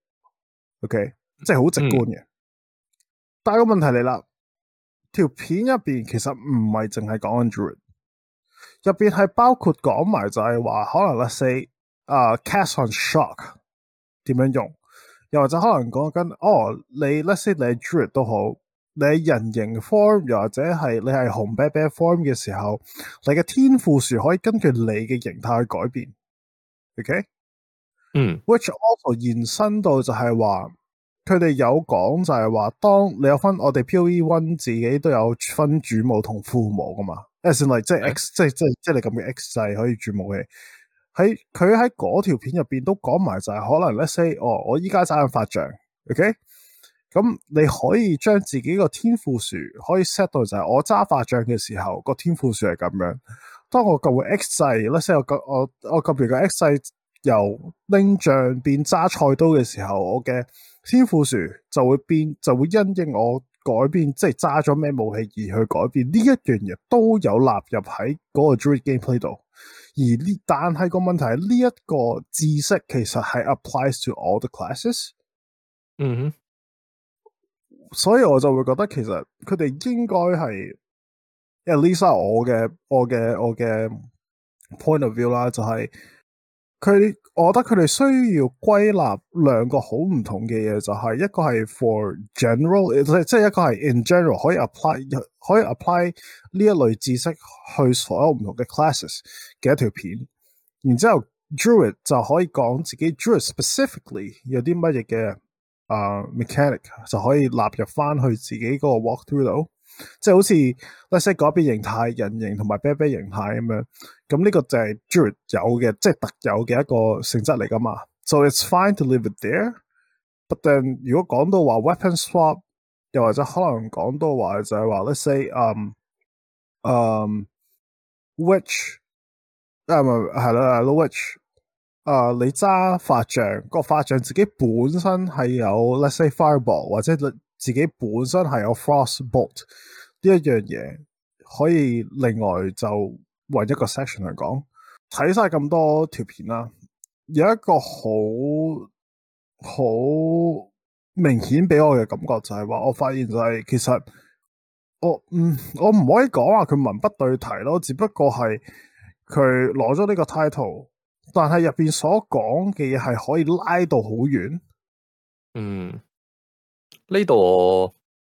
，OK， 即係好直觀嘅。嗯、但係個問題嚟啦，條片入邊其實唔係淨係講緊 Druid， 入邊係包括講埋就係話可能 let's say 啊、uh, cast on shock 點樣用，又或者可能講緊哦你 let's say 你係 Druid 都好，你係人形 form 又或者係你係紅啤啤 form 嘅時候，你嘅天賦樹可以根據你嘅形態去改變。OK。 嗯 which also 延伸到就係話，佢哋有講就係話，當你有分我哋 P.O.E one 自己都有分主武同副武噶嘛 as in like 即係 X 即係即係即係你咁嘅 X 制可以轉武器。喺佢喺嗰條片入邊都講埋就係可能 let's say 哦，我依家揸緊法杖 ，OK， 咁你可以將自己個天賦樹可以 set 到就係我揸法杖嘅時候個天賦樹係咁樣。當我撳個 X 制 let's say 我我我撳完個 X 制。由拎杖變揸菜刀嘅時候，我嘅天賦樹就會變，就會因應我改變，即係揸咗咩武器而去改變。呢一樣嘢都有納入喺嗰個 Druid Gameplay 度。而呢，但係個問題係呢一個知識其實係 applies to all the classes。 嗯哼， 所以我就會覺得其實佢哋應該係 at least 我嘅我嘅我嘅 point of view 啦，就係、是。佢，我覺得佢哋需要歸納兩個好唔同嘅嘢，就係、是、一個係 for general，即係一個係 in general 可以 apply 可以 apply 呢一類知識去所有唔同嘅 classes 嘅一條片，然之後 Druid 就可以講自己 Druid specifically 有啲乜嘢嘅啊 mechanic 就可以納入翻去自己嗰個 walkthrough 度。即係好似 let's say 改變形態、人形同埋啤啤形態咁樣，咁呢個就係 Druid 有嘅，即係特有嘅一個性質嚟噶嘛。So it's fine to leave it there，but then 如果講到話 weapon swap，又或者可能講到話就係話 let's say 嗯嗯 witch 啊唔係係啦係咯 witch 啊你揸法杖，個法杖自己本身係有 let's say fireball 或者自己本身係有 frostbolt 呢一樣嘢，可以另外就揾一個 section 嚟講。睇晒咁多條片啦，有一個好好明顯俾我嘅感覺就係話，我發現就係、是、其實我嗯我唔可以講話佢文不對題咯，只不過係佢攞咗呢個 title， 但係入邊所講嘅嘢係可以拉到好遠。 嗯。呢度我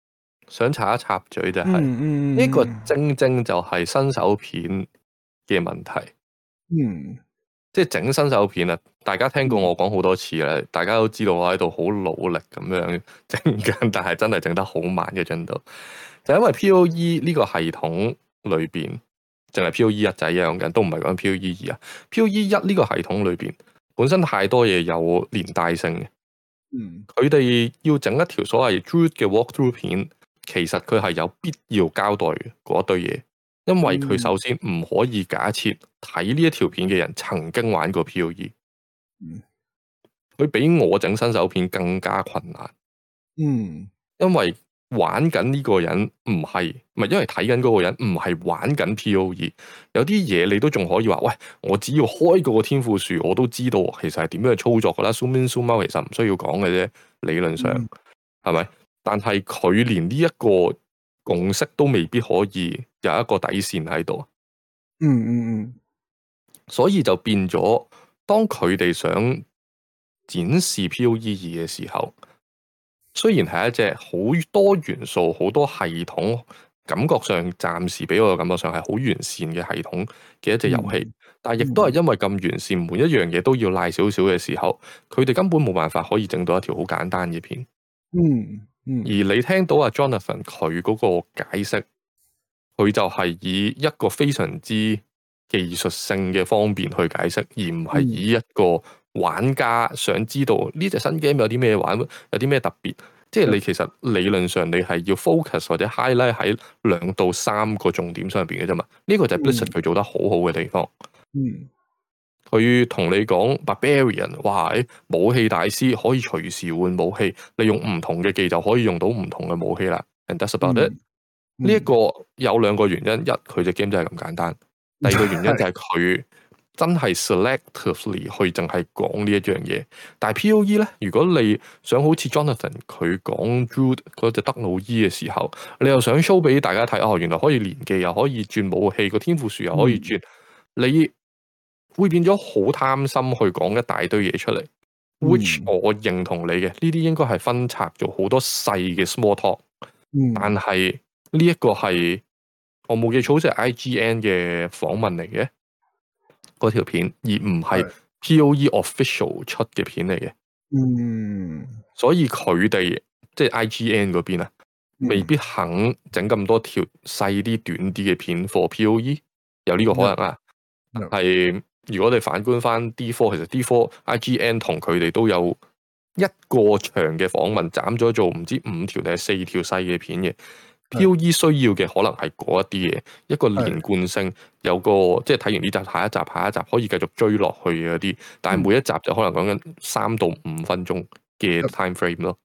想插一插嘴就係、是、呢、 嗯嗯、個正正就係新手片嘅問題。 嗯， 即係整新手片啊！大家聽過我講好多次啦，嗯、大家都知道我喺度好努力咁樣整緊，但係真係整得好慢嘅進度，就因為 P O E 呢個系統裏邊，淨係 P O E 一仔樣緊，都唔係講 P O E 二啊。P O E 一呢個系統裏邊本身太多嘢有連帶性嘅， 嗯，佢哋要整一條所謂 Druid 嘅 walkthrough 片，其實佢係有必要交代嗰堆嘢。因為佢首先唔可以假設睇呢一條片嘅人曾經玩過 P O E， 佢比我整新手片更加困難。 嗯， 因為玩緊呢個人唔係，唔係因為睇緊嗰個人唔係玩緊 P O E， 有啲嘢你都仲可以話，喂，我只要開個天賦樹，我都知道其實係點樣去操作噶啦。zoom in zoom out 其實唔需要講嘅啫，理論上係咪、嗯？但係佢連呢一個共識都未必可以有一個底線喺度， 嗯嗯嗯， 所以就變咗，當佢哋想展示 P O E 二嘅時候，雖然係一隻好多元素、好多系統，感覺上暫時俾我嘅感覺上係好完善嘅系統嘅一隻遊戲，嗯、但係亦都係因為咁完善，每一樣嘢都要賴少少嘅時候，佢哋根本冇辦法可以整到一條好簡單嘅片。 嗯。嗯、 而你聽到阿 Jonathan 佢嗰個解釋，佢就係以一個非常之技術性嘅方面去解釋，而唔係以一個玩家想知道呢隻新 game 有啲咩玩，有啲咩特別。即係你其實理論上你係要 focus 或者 highlight 喺兩到三個重點上邊嘅啫嘛。呢、這個就係 Blizzard 佢做得好好嘅地方。 嗯。 佢同你講 Barbarian， 哇！武器大師可以隨時換武器，你用唔同嘅技就可以用到唔同嘅武器啦。And that's about it。呢一個有兩個原因，一佢隻 game 真係咁簡單，第二個原因就係佢真係 selectively 去淨係講呢一樣嘢。但係 P O E 咧，如果你想好似 Jonathan 佢講 Druid 嗰隻德魯伊嘅時候，你又想 show 俾大家睇，哦，原來可以連技，又可以轉武器，個天賦樹又可以轉，嗯、你會變咗好貪心去講一大堆嘢出嚟、嗯、which 我認同你嘅，呢啲應該係分拆做好多細嘅 small talk、嗯、但係呢一個係我冇記錯，好似係 I G N 嘅訪問嚟嘅嗰條片，而唔係 P O E official 出嘅片嚟嘅。嗯，所以佢哋即係 I G N 嗰邊啊，未必肯整咁多條細啲、短啲嘅片 for P O E， 有呢個可能啊，係、嗯。如果你反觀翻 D 四，其實 D 四 I G N 同佢哋都有一個長嘅訪問，斬咗做唔知五條定係四條細嘅片嘅。P O E 需要嘅可能係嗰一啲嘢，一個連貫性，有個即係睇完呢集下一集下一集可以繼續追落去嘅嗰啲，但係每一集就可能講緊三到五分鐘嘅 time frame 咯。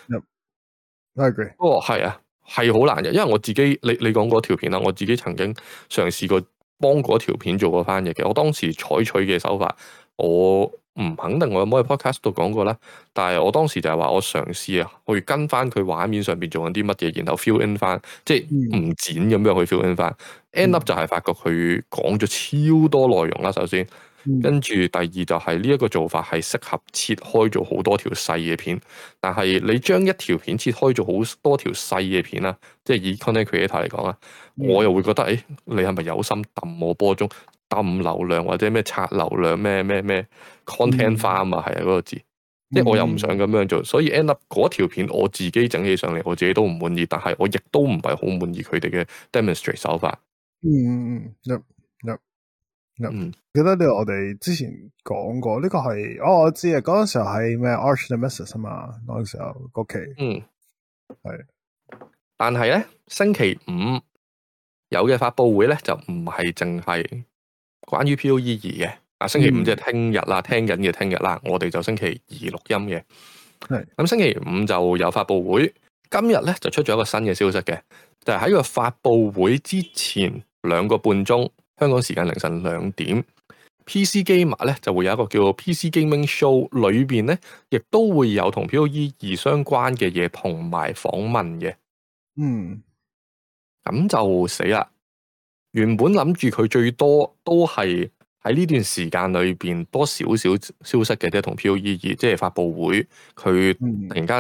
I agree。 不過係啊，係好難嘅，因為我自己你你講嗰條片啦，我自己曾經嘗試過。幫嗰條片做過翻譯嘅，我當時採取嘅手法，我唔肯定我有冇喺 podcast 度講過啦。但係我當時就係話我嘗試啊，去跟翻佢畫面上邊做緊啲乜嘢，然後 fill in 翻，即係唔剪咁樣去 fill in 翻。end up 就係發覺佢講咗超多內容啦，首先。跟住第二就係呢一個做法係適合切開做好多條細嘅片，但係你將一條片切開做好多條細嘅片啦，即係以 content creator 嚟講啊，嗯、我又會覺得誒、欸，你係咪有心揼我波中揼流量或者咩刷流量咩咩咩 content farm 啊，係啊嗰個字，即係我又唔想咁樣做，所以 end up 嗰條片我自己整起上嚟，我自己都唔滿意，但係我亦都唔係好滿意佢哋嘅 demonstrate 手法。嗯嗯嗯。Yep. Yep. 嗯，記得呢個我哋之前講過，呢、這個係哦，我知啊，嗰陣時候係咩 Arch Nemesis 啊嘛，嗰陣時候嗰期，嗯，係是， 但係咧星期五有嘅發佈會咧就唔係淨係關於 P O E 二嘅，啊星期五即係聽日啦，嗯、聽緊嘅聽日啦，我哋就星期二錄音嘅，係是，咁星期五就有發佈會，今日咧就出咗一個新嘅消息嘅，就係、是、喺個發佈會之前兩個半鐘。香港時間凌晨兩點 ，P C Gamer 咧就會有一個叫做 P C Gaming Show，裏邊咧亦都會有同 P O E 二相關嘅嘢同埋訪問嘅。嗯，咁就死啦！原本諗住佢最多都係喺呢段時間裏邊多少少消息嘅啫，同 P O E 二即係發佈會，佢突然間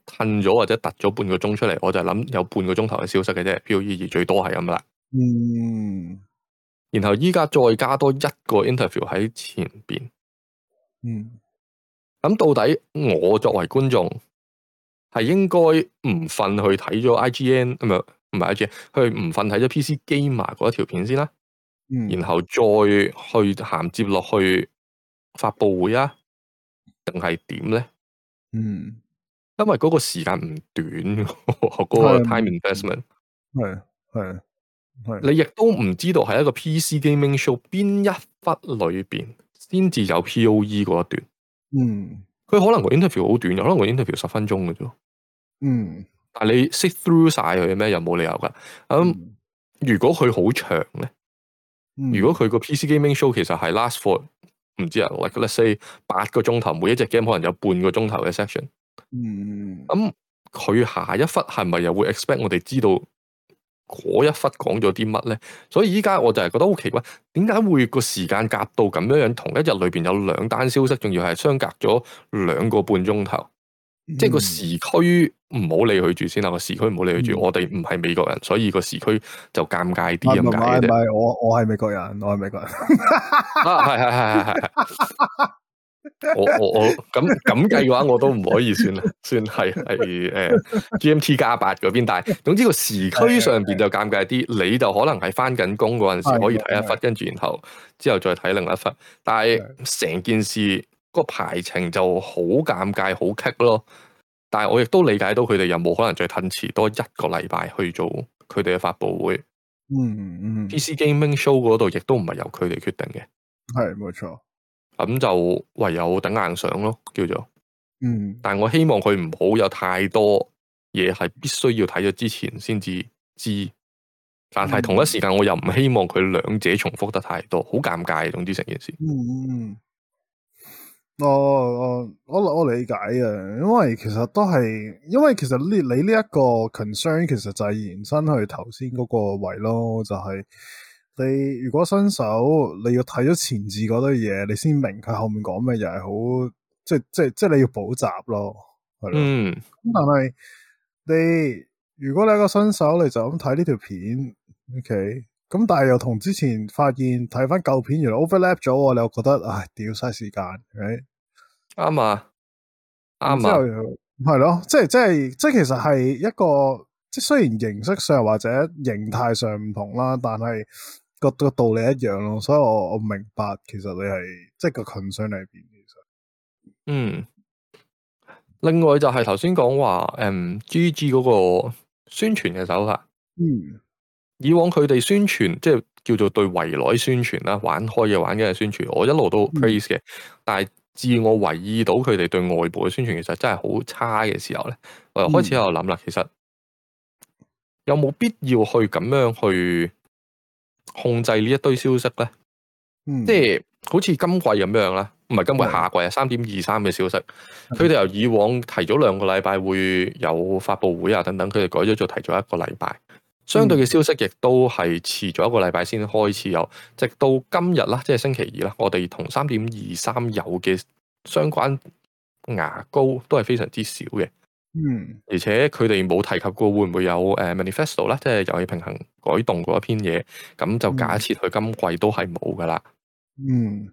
褪咗或者突咗半個鐘出嚟，我就諗有半個鐘頭嘅消息嘅啫 ，POE 最多係咁啦。 嗯， 然後依家再加多一個 interview 喺前邊。 嗯， 咁到底我作為觀眾係應該唔瞓去睇咗 I G N 唔係唔係 I G N， 去唔瞓睇咗 P C Gamer 嗰一條片先啦， 嗯， 然後再去銜接落去發佈會啊，定係點咧？ 嗯， 因為嗰個時間唔短，嗰個 time investment 係係係， 你亦都唔知道係一個 P C gaming show 邊一忽裏邊先至有 P O E 嗰一段。 嗯， 佢可能個 interview 好短，可能個 interview 十分鐘嘅啫。 嗯， 但係你 sit through 晒佢咩？又冇理由噶。咁、嗯、如果佢好長咧、嗯，如果佢個 P C gaming show 其實係 last for 唔知啊，like let's say 八個鐘頭，每一隻 game 可能有半個鐘頭嘅 section。 嗯， 咁佢下一忽係咪又會 expect 我哋知道嗰一忽講咗啲乜咧？所以依家我就係覺得好奇怪，點解會個時間夾到咁樣樣？同一日裏邊有兩單消息，仲要係相隔咗兩個半鐘頭。嗯、即係個時區唔好理佢住先啦，個時區唔好理佢住。嗯、我哋唔係美國人，所以個時區就尷尬啲咁解嘅。 唔係我我係美國人，我係美國人。 啊，係係係係係。我我我咁咁計嘅話，我都唔可以算算係係誒 G M T 加八嗰邊。但係總之個時區上邊就尷尬啲，你就可能係翻緊工嗰陣時可以睇一忽，跟住然後之後再睇另一忽。但係成件事個排程就好尷尬，好棘咯。但係我亦都理解到佢哋有冇可能再褪遲多一個禮拜去做佢哋嘅發佈會。 嗯嗯 P C Gaming Show 嗰度亦都唔係由佢哋決定嘅。 係冇錯。咁就唯有頂硬上咯，叫做。 嗯。 但係我希望佢唔好有太多嘢係必須要睇咗之前先至知。但係同一時間我又唔希望佢兩者重複得太多，好尷尬。總之成件事。 嗯嗯。我我我我理解啊，因為其實都係，因為其實呢你呢一個 concern 其實就係延伸去頭先嗰個位咯，就係、是、你如果新手你要睇咗前置嗰堆嘢，你先明佢後面講咩，又係好即係即係即係你要補習咯，係咯。 嗯。 咁但係你如果你係個新手，你就咁睇呢條片 ，OK。咁但係又同之前發現睇翻舊片原來 overlap 咗，你又覺得唉屌嘥時間， 啱啊，啱啊， 啊， 係咯，即係即係即係其實係一個即係雖然形式上或者形態上唔同啦，但係個個道理一樣咯，所以我我明白其實你係即係個 concern 喺邊其實。 嗯，另外就係頭先講話誒 G G 嗰個宣傳嘅手法， 嗯。 以往佢哋宣傳即係叫做對圍內宣傳啦，玩開嘅玩嘅宣傳，我一路都 praise 嘅。嗯、但係自我留意到佢哋對外部嘅宣傳其實真係好差嘅時候咧，我又開始喺度諗啦，其實有冇必要去咁樣去控制呢一堆消息咧？ 嗯、 即係好似今季咁樣啦，唔係今季夏季啊，三點二三嘅消息，佢哋由以往提早兩個禮拜會有發佈會啊等等，佢哋改咗做提早一個禮拜。相對嘅消息亦都係遲咗一個禮拜先開始有，直到今日啦，即係星期二啦，我哋同三點二三有嘅相關牙膏都係非常之少嘅。 嗯， 而且佢哋冇提及過會唔會有誒 manifesto 啦，即係遊戲平衡改動嗰一篇嘢，咁就假設佢今季都係冇噶啦。嗯，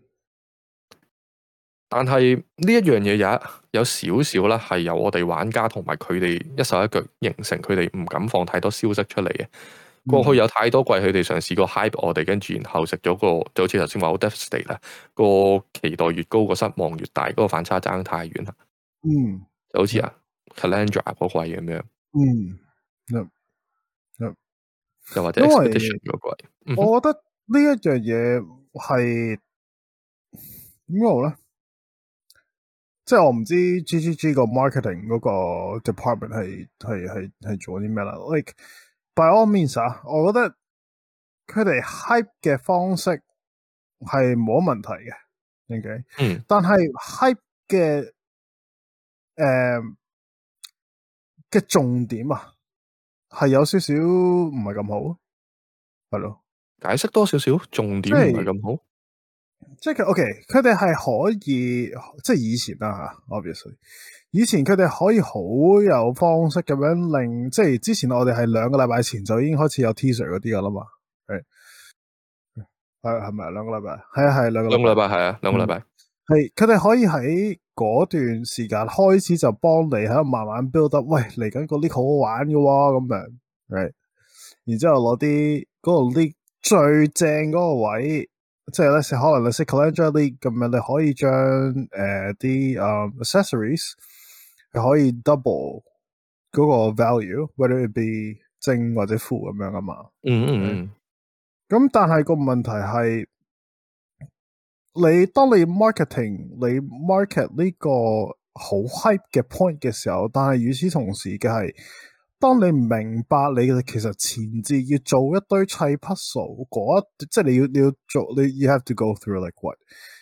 但係呢一樣嘢有有少少啦，係由我哋玩家同埋佢哋一手一腳形成，佢哋唔敢放太多消息出嚟嘅。過去有太多季佢哋嘗試過 hype 我哋，跟住然後食咗個就好似頭先話好 devastating 啦，個期待越高個失望越大，嗰個反差爭太遠啦。嗯，就好似啊 Calandra 嗰季咁樣。嗯，嗯嗯、又或者 Expedition 嗰季。 我覺得呢一樣嘢係點講咧？即係我唔知 G G G 個 marketing 嗰個 department 係係係係做啲咩啦。Like by all means 啊，我覺得佢哋 hype 嘅方式係冇問題嘅，OK。嗯。但係 hype 嘅誒嘅重點啊，係有少少唔係咁好，係咯。 解釋多少少重點唔係咁好。 即係佢 OK，佢哋係可以即係以前啦吓 ，obviously，以前佢哋可以好有方式咁樣令，即係之前我哋係兩個禮拜前就已經開始有 teaser 嗰啲噶啦嘛，係係係咪兩個禮拜？係啊係兩個兩個禮拜係啊兩個禮拜， 係佢哋可以喺嗰段時間開始就幫你喺度慢慢 build up，喂嚟緊個 league 好好玩嘅喎咁樣，係，然之後攞啲嗰個 league 最正嗰個位。即係咧，可能你識 calendar league 咁樣，你可以將誒啲誒 accessories 係可以 double 嗰個 value，whether it be 正或者負咁樣啊嘛。 嗯嗯嗯。 咁但係個問題係，你當你 marketing 你 market 呢個好 hype 嘅 point 嘅時候，但係與此同時嘅係。當你明白你其實前置要做一堆砌 puzzle 嗰一，即係你要你要做你 you have to go through like what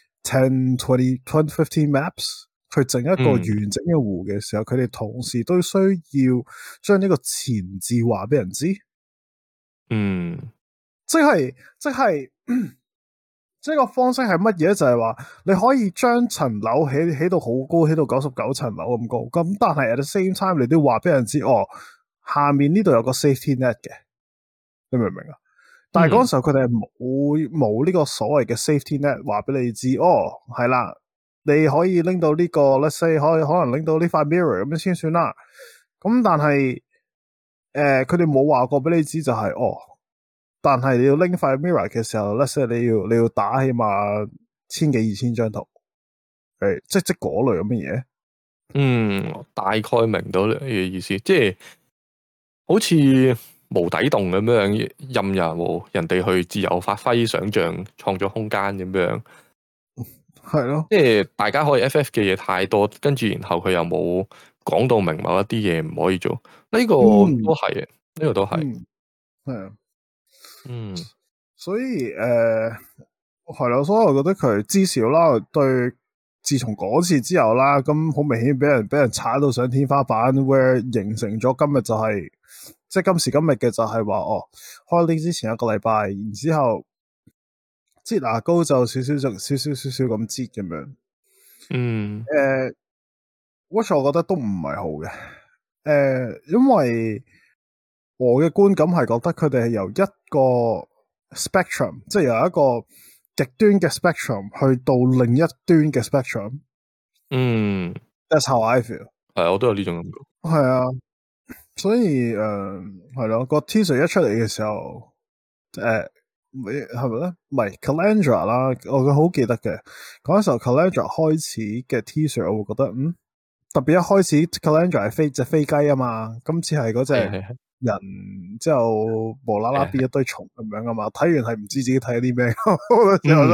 ten, twenty, twenty, fifteen maps 去整一個完整嘅湖嘅時候，佢哋、嗯、同時都需要將呢個前置話俾人知。 嗯， 即係即係即係個方式係乜嘢？就係、是、話你可以將層樓起起到好高，起到九十九層樓咁高，咁但係 at the same time 你都話俾人知哦。下面呢度有個 safety net 嘅，你明唔明啊？但係嗰時候佢哋係冇冇呢個所謂嘅 safety net 話俾你知，哦係啦，你可以拎到呢、這個 let's say 可以可能拎到呢塊 mirror 咁樣先算啦。咁但係誒佢哋冇話過俾你知就係、是、哦，但係你要拎塊 mirror 嘅時候 let's say 你要你要打起碼千幾二千張圖，誒即即嗰類咁嘅嘢。嗯， 大概明到你嘅意思，即係。好似無底洞咁樣，任由人哋去自由發揮、想象、創作空間咁樣，係咯。即係大家可以 F F 嘅嘢太多，跟住然後佢又冇講到明某一啲嘢唔可以做，呢、這個都係嘅，呢、嗯、個都係。係啊，嗯，所以誒係咯，所以我覺得佢至少啦，對，自從嗰次之後啦，咁好明顯俾人俾人踩到上天花板 ，where 形成咗今日就係、是。即係今時今日嘅就係話哦，開 league 之前一個禮拜，然之後擠牙膏就少少就少少少少咁擠咁樣。嗯，誒、呃、，which 我覺得都唔係好嘅。誒、呃，因為我嘅觀感係覺得佢哋係由一個 spectrum，即係由一個極端嘅 spectrum 去到另一端嘅 spectrum。嗯 ，that's how I feel。係，我都有呢種感覺。係啊。所以誒係咯，個 teaser 一出嚟嘅時候，誒係咪咧？唔係 Calandra 啦，我好記得嘅嗰陣時候 Calandra 開始嘅 teaser，我會覺得嗯特別一開始 Calandra 係飛隻飛雞啊嘛，今次係嗰隻人之後無啦啦變一堆蟲咁樣啊嘛，睇完係唔知自己睇啲咩，我之後都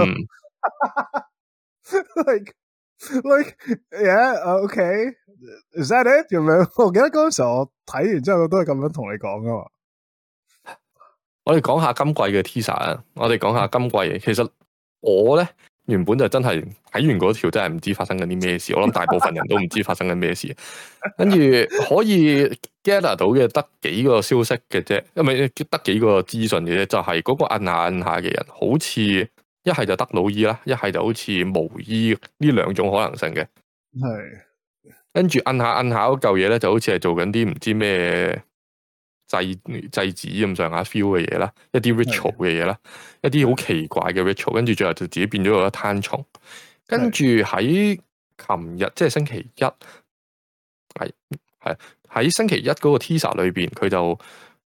like like yeah okay is that it 咁樣？我記得嗰陣時候我睇完之後都係咁樣同你講噶嘛。我哋講下今季嘅 teaser 啊，我哋講下今季。其實我咧原本就真係睇完嗰條真係唔知發生緊啲咩事，我諗大部分人都唔知發生緊咩事。跟住可以 gather 到嘅得幾個消息嘅啫，因為得幾個資訊嘅啫，就係、是、嗰個摁下摁下嘅人，好似一係就德魯伊啦，一係就好似無伊呢兩種可能性嘅。係。跟住摁下摁下嗰嚿嘢咧，就好似係做緊啲唔知咩祭祭祀咁上下 feel 嘅嘢啦，一啲 ritual 嘅嘢啦，一啲好奇怪嘅 ritual，跟住最後就自己變咗個一灘蟲。跟住喺琴日即係星期一，係係喺星期一嗰個 teaser 裏邊，佢就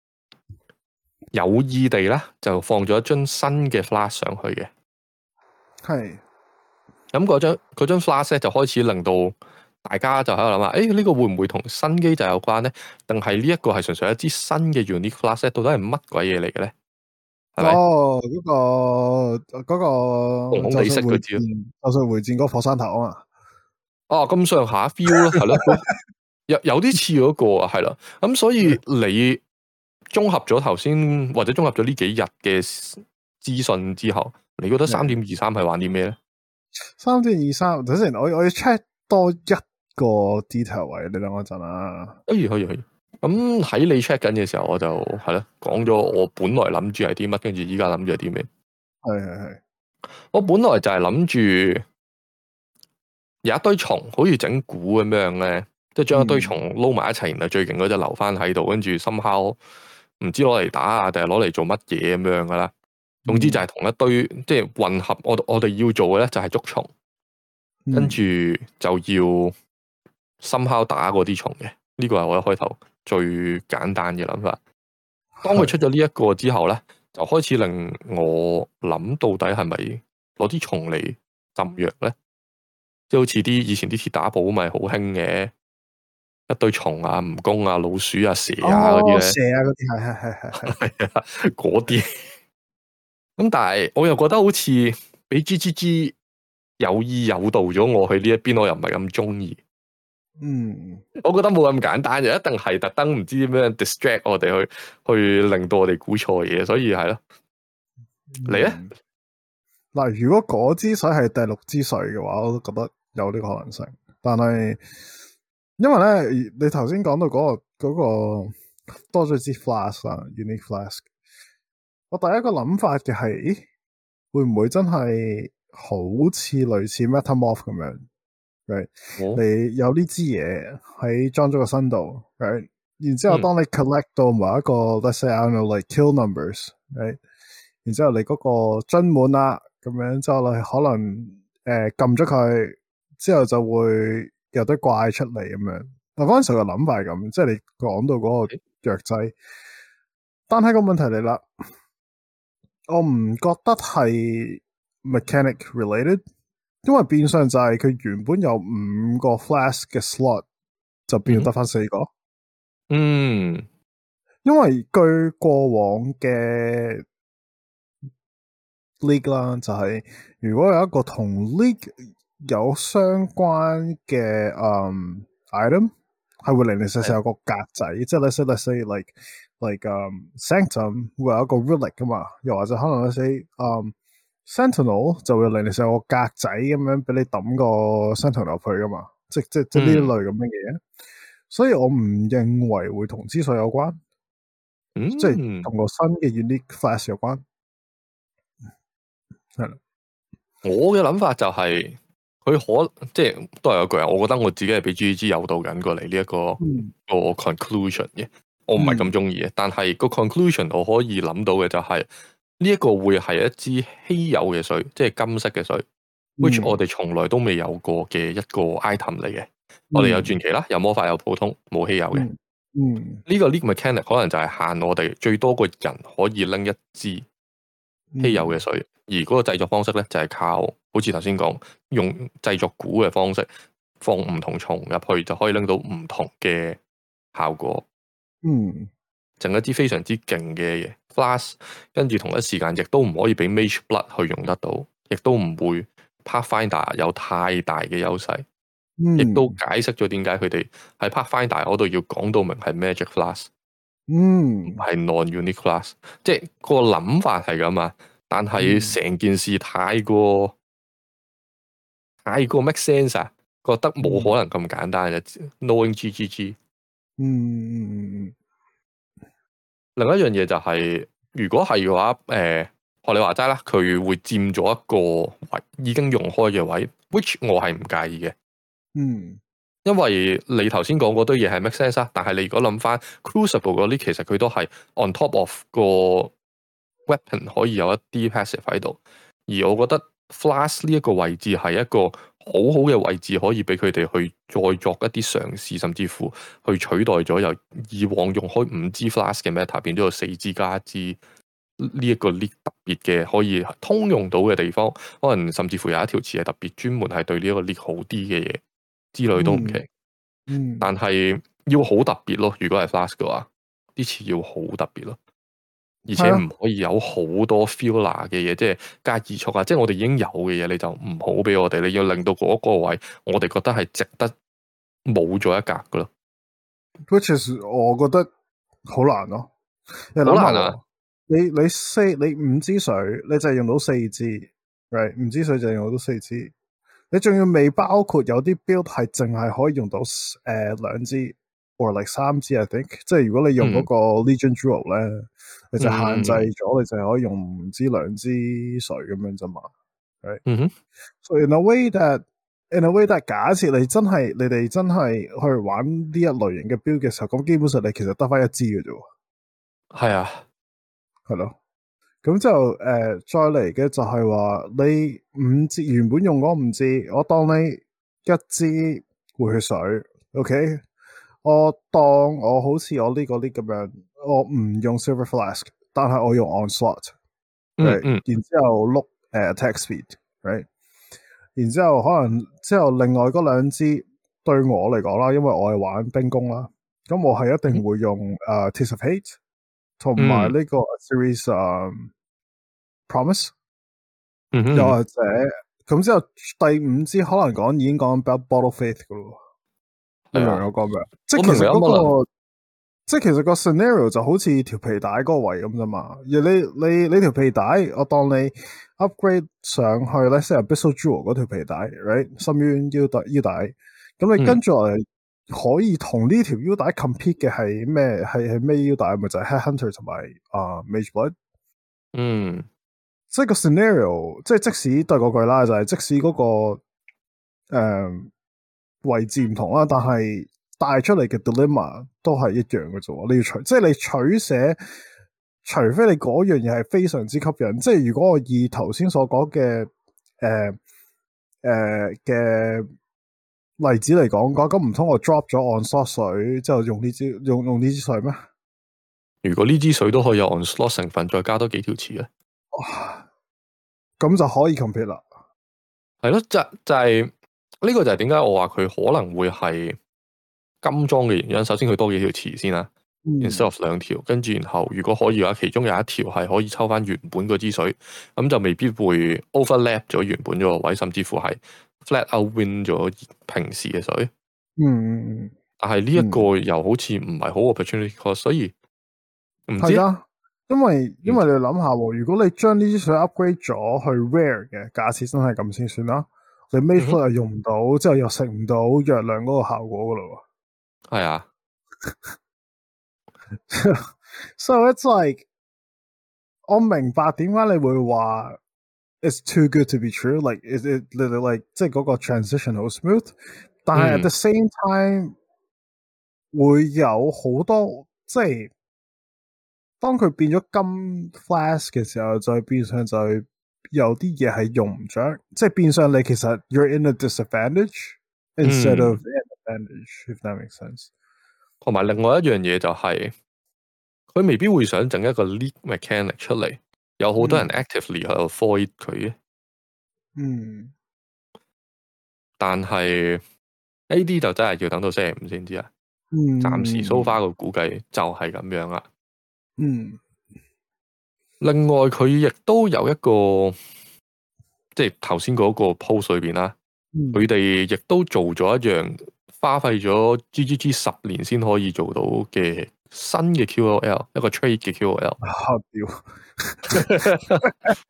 有意地咧就放咗一樽新嘅 flask 上去嘅。係咁嗰張嗰張 flask 咧就開始令到大家就喺度諗下，誒、欸、呢、這個會唔會同新機制有關咧？定係呢一個係純粹一支新嘅 unique flask？到底係乜鬼嘢嚟嘅咧？係咪？哦，嗰、那個嗰、那個紅紅地色嗰支，就算回戰嗰個火山頭啊嘛。哦，咁上下 feel 咯，係咯，有有啲似嗰個啊，係啦。咁所以你綜合咗頭先或者綜合咗呢幾日嘅資訊之後，你覺得三點二三係玩啲咩咧？三點二三，等陣我我要 check 多一個 detail 位，你等我一陣啊。可以可以可以。咁喺你 check 緊嘅時候，我就係咯講咗我本來諗住係啲乜，跟住依家諗住係啲咩。係係係。 我本來就係諗住有一堆蟲，好似整蠱咁樣咧，即係將一堆蟲撈埋一齊，然後最勁嗰隻留翻喺度，跟住 somehow 唔知攞嚟打啊，定係攞嚟做乜嘢咁樣噶啦。總之就係同一堆即係混合，我我哋要做嘅咧就係捉蟲，跟住就要 somehow 打嗰啲蟲嘅。呢個係我一開頭最簡單嘅諗法。當佢出咗呢一個之後咧，就開始令我諗到底係咪攞啲蟲嚟浸藥咧？即係好似啲以前啲鐵打簿咪好興嘅一堆蟲啊、蜈蚣啊、老鼠啊、蛇啊嗰啲咧， 蛇啊嗰啲係係係係係啊嗰啲。咁但係我又覺得好似俾 G G G 有意誘導咗我去呢一邊，我又唔係咁中意。 嗯， 我覺得冇咁簡單，就一定係特登唔知點樣 distract 我哋去去令到我哋估錯嘢，所以係咯。你咧？ 嗱、嗯，如果嗰支水係第六支水嘅話，我都覺得有呢個可能性。但係因為咧，你頭先講到嗰、個嗰、個多咗支 flask 啊 unique flask，我第一個諗法嘅係，咦，會唔會真係好似類似 Metamorph 咁樣？Right? 哦、 你有呢支嘢喺裝咗個身度，right? 然之後當你 collect 到某一個、嗯、let's say I don't know like kill numbers，right? 然之後你嗰個樽滿啦，咁樣之後你可能誒撳咗佢，之後就會有堆怪出嚟咁樣。嗱，嗰陣時嘅諗法係咁，即係你講到嗰個藥劑，但係個問題嚟啦，我唔覺得係 mechanic related。因為變相就係佢原本有五個 flask 嘅 slot，就變咗得翻四個。 嗯， 因為據過往嘅 league 啦，就係如果有一個同 league 有相關嘅嗯 item，係會零零舍舍有個格仔，即係 let's say let's say like like um sanctum 會有一個 relic 噶嘛，又或者可能 let's say um Sentinel 就會令你成個格仔咁樣俾你抌個 Sentinel 入去噶嘛，即即即呢一類咁嘅嘢，嗯、所以我唔認為會同支水有關， 嗯、 即係同個新嘅 Unique Flask 有關。係啦， 我嘅諗法就係、是、佢可即係都係有句啊，我覺得我自己係俾 G G G 誘導緊過嚟呢一個、嗯、個 conclusion 嘅，我唔係咁中意嘅，但係個 conclusion 我可以諗到嘅就係、是。呢一個會係一支稀有嘅水，即係金色嘅水、嗯、，which 我哋從來都未有過嘅一個 item 嚟嘅。嗯、我哋有傳奇啦，有魔法，有普通，冇稀有嘅。嗯，呢、嗯這個 league mechanic 可能就係限我哋最多個人可以拎一支稀有嘅水，嗯、而嗰個製作方式咧就係、是、靠，好似頭先講，用製作鼓嘅方式放唔同蟲入去，就可以拎到唔同嘅效果。嗯。整一支非常之勁嘅嘢 flask， 跟住同一時間亦都唔可以俾 mage blood 去用得到，亦都唔會 pathfinder 有太大嘅優勢，亦、嗯、都解釋咗點解佢哋喺 pathfinder 嗰度要講到明係 magic flask， 唔係 non-unique flask，即係個諗法係咁啊，但係成件事太過、嗯、太過 make sense 啊，覺得冇可能咁簡單嘅、嗯、knowing G G G， 嗯嗯嗯嗯。另一樣嘢就係、是，如果係嘅話，誒、呃，學你話齋啦，佢會佔咗一個位已經用開嘅位 ，which 我係唔介意嘅。嗯，因為你頭先講嗰堆嘢係 make sense 啊，但係你如果諗翻 Crucible 嗰啲，其實佢都係 on top of 個 weapon 可以有一啲 passive 喺度，而我覺得 Flask 呢一個位置係一個好好嘅位置，可以俾佢哋去再作一啲嘗試，甚至乎去取代咗由以往用開五支 flask 嘅 meta 變咗有四支加一支呢一個 league 特別嘅可以通用到嘅地方，可能甚至乎有一條詞係特別專門係對呢一個 league 好啲嘅嘢之類都唔奇。嗯，嗯但係要好特別咯，如果係 flask 嘅話，啲詞要好特別咯。而且唔可以有好多 filler 嘅嘢，即係加移速啊！即係我哋已經有嘅嘢，你就唔好俾我哋。你要令到嗰個位，我哋覺得係值得冇咗一格噶咯。 Which is 我覺得好難咯， 好難啊！ 你你四你五支水，你就係用到四支，right？ 五支水就係用到四支，你仲要未包括有啲 build 係淨係可以用到誒兩支。或嚟三支 I think， 即係如果你用嗰個 Legion Druid 咧，嗯、你就限制咗，嗯、你就係可以用唔知兩支水咁樣啫嘛。 right？ 嗯哼。 So in a way that in a way that 假設你真係你哋真係去玩呢一類型嘅 build 嘅時候，咁基本上你其實得翻一支嘅啫。 係啊， 係咯。咁就誒、呃、再嚟嘅就係話你五支原本用嗰五支，我當你一支回血水 ，OK？我當我好似我呢個啲咁樣，我唔用 Silver Flask， 但係我用 Onslaught，right？、 嗯嗯、 然之後碌誒、uh, attack speed，right？ 然之後可能之後另外嗰兩支對我嚟講啦，因為我係玩兵工啦，咁我係一定會用誒、uh, Taste of Hate 同埋呢個 Series、um, Promise，、 嗯嗯、 又或者咁之後第五支可能講已經講緊 Bottle Faith 噶咯。你明唔明我講咩？即係其實嗰、那個，即係其實個 scenario 就好似條皮帶嗰個位咁啫嘛。而你你你條皮帶，我當你 upgrade 上去咧，即係 Abyssal Jewel 嗰條皮帶 ，right？ 深淵腰帶腰帶，咁你跟住落嚟可以同呢條腰帶 compete 嘅係咩？係係咩腰帶？咪就係、是、Headhunter 同埋啊、uh, Mage Blood。 嗯， 即係個 scenario， 即係即使對嗰句啦，就係、是、即使嗰、那個誒。呃位置唔同啦，但係帶出嚟嘅 dilemma 都係一樣嘅啫。你要取，即係你取捨，除非你嗰樣嘢係非常之吸引。即係如果我以頭先所講嘅誒誒嘅例子嚟講，講咁唔通我 drop 咗 Onslaught 水之後用呢支用用呢支水咩？ 如果呢支水都可以有 Onslaught 成分，再加多幾條刺咧， 咁就可以 compete 啦。 係咯，就就係、是。呢個就係點解我話佢可能會係金裝嘅原因。首先佢多幾條詞先啦、嗯、，instead of 兩條，跟住然後如果可以嘅話，其中有一條係可以抽翻原本嗰支水，咁就未必會 overlap 咗原本嗰個位，甚至乎係 flat out win 咗平時嘅水。 嗯， 但係呢一個又好似唔係好 opportunity cost，所以唔知啊。 因為因為你諗下喎，如果你將呢支水 upgrade 咗去 rare 嘅，假設真係咁先算啦。你 Mage Blood 又用唔到，嗯、之後又食唔到藥量嗰個效果噶咯喎。係啊。So it's like 我明白點解你會話 it's too good to be true， like is it like 即係嗰個 transition 好 smooth， 但係 at the same time、嗯、會有好多即係當佢變咗金 flask 嘅時候，就變相就係。有啲嘢係用唔着，即係變相你其實 you're in a disadvantage instead of an advantage，if that makes sense。 同埋另外一樣嘢就係、是，佢未必會想整一個 league mechanic 出嚟，有好多人 actively 喺度 avoid 佢嘅。嗯。但係 A D 就真係要等到星期五先知啊。嗯。暫時 so far 個估計就係咁樣啦。嗯。另外佢亦都有一個，即係頭先嗰個 post 裏邊啦，佢哋亦都做咗一樣花費咗 G G G 十年先可以做到嘅新嘅 Q O L， 一個 trade 嘅 Q O L。啊屌！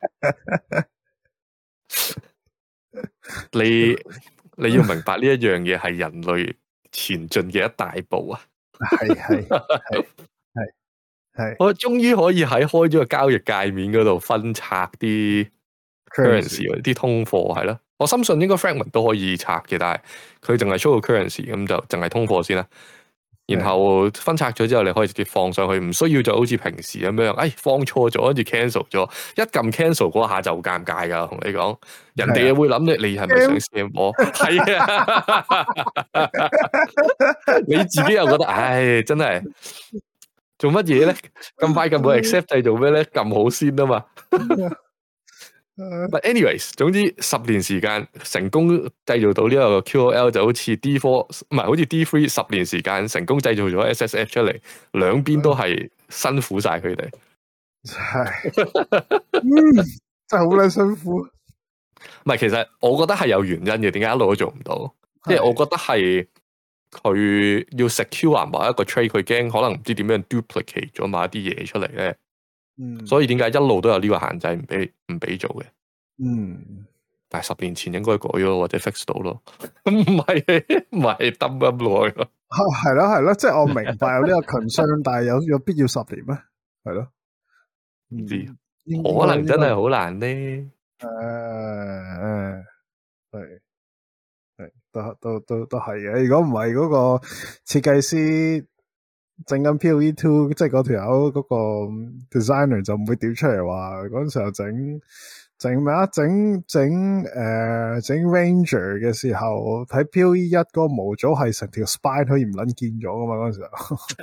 你你要明白呢一樣嘢係人類前進嘅一大步啊！係係係。我終於可以喺開咗個交易界面嗰度分拆啲 currency 啲通貨係啦，我深信應該 fragment 都可以拆嘅，但係佢淨係 show 個 currency 咁就淨係通貨先啦。然後分拆咗之後，你可以直接放上去，唔需要就好似平時咁樣，哎放錯咗跟住 cancel 咗，一撳 cancel 嗰下就尷尬噶。同你講，人哋會諗你你係咪想 scam 我？係啊，你自己又覺得，唉，真係。做乜嘢咧？咁快咁冇 accept 係做咩咧？咁好先啊嘛。But anyways， 總之十年時間成功製造到呢個 Q O L 就好似 D 四 唔係好似 D 三十年時間成功製造咗 S S F 出嚟，兩邊都係辛苦晒佢哋。係，真係好撚辛苦。唔係，其實我覺得係有原因嘅，點解一路都做唔到？即係我覺得係。佢要 secure 某一個 trade， 佢驚可能唔知點樣 duplicate 咗某一啲嘢出嚟咧，嗯，所以點解一路都有呢個限制唔俾唔俾做嘅，嗯，但係十年前應該改咗或者 fix 到咯，唔係唔係抌咁耐咯，係咯係咯，即係我明白有呢個 concern， 但係有有必要十年咩？係咯，唔知可能真係好難咧。 誒誒，係係都都都都係嘅。如果唔係嗰個設計師整緊 P O E two，即係嗰條友嗰個 designer 就唔會屌出嚟話嗰陣時候整整咩啊？整整誒整 Ranger 嘅時候睇 P O E 一嗰個模組係成條 spine 可以唔撚見咗噶嘛？嗰陣時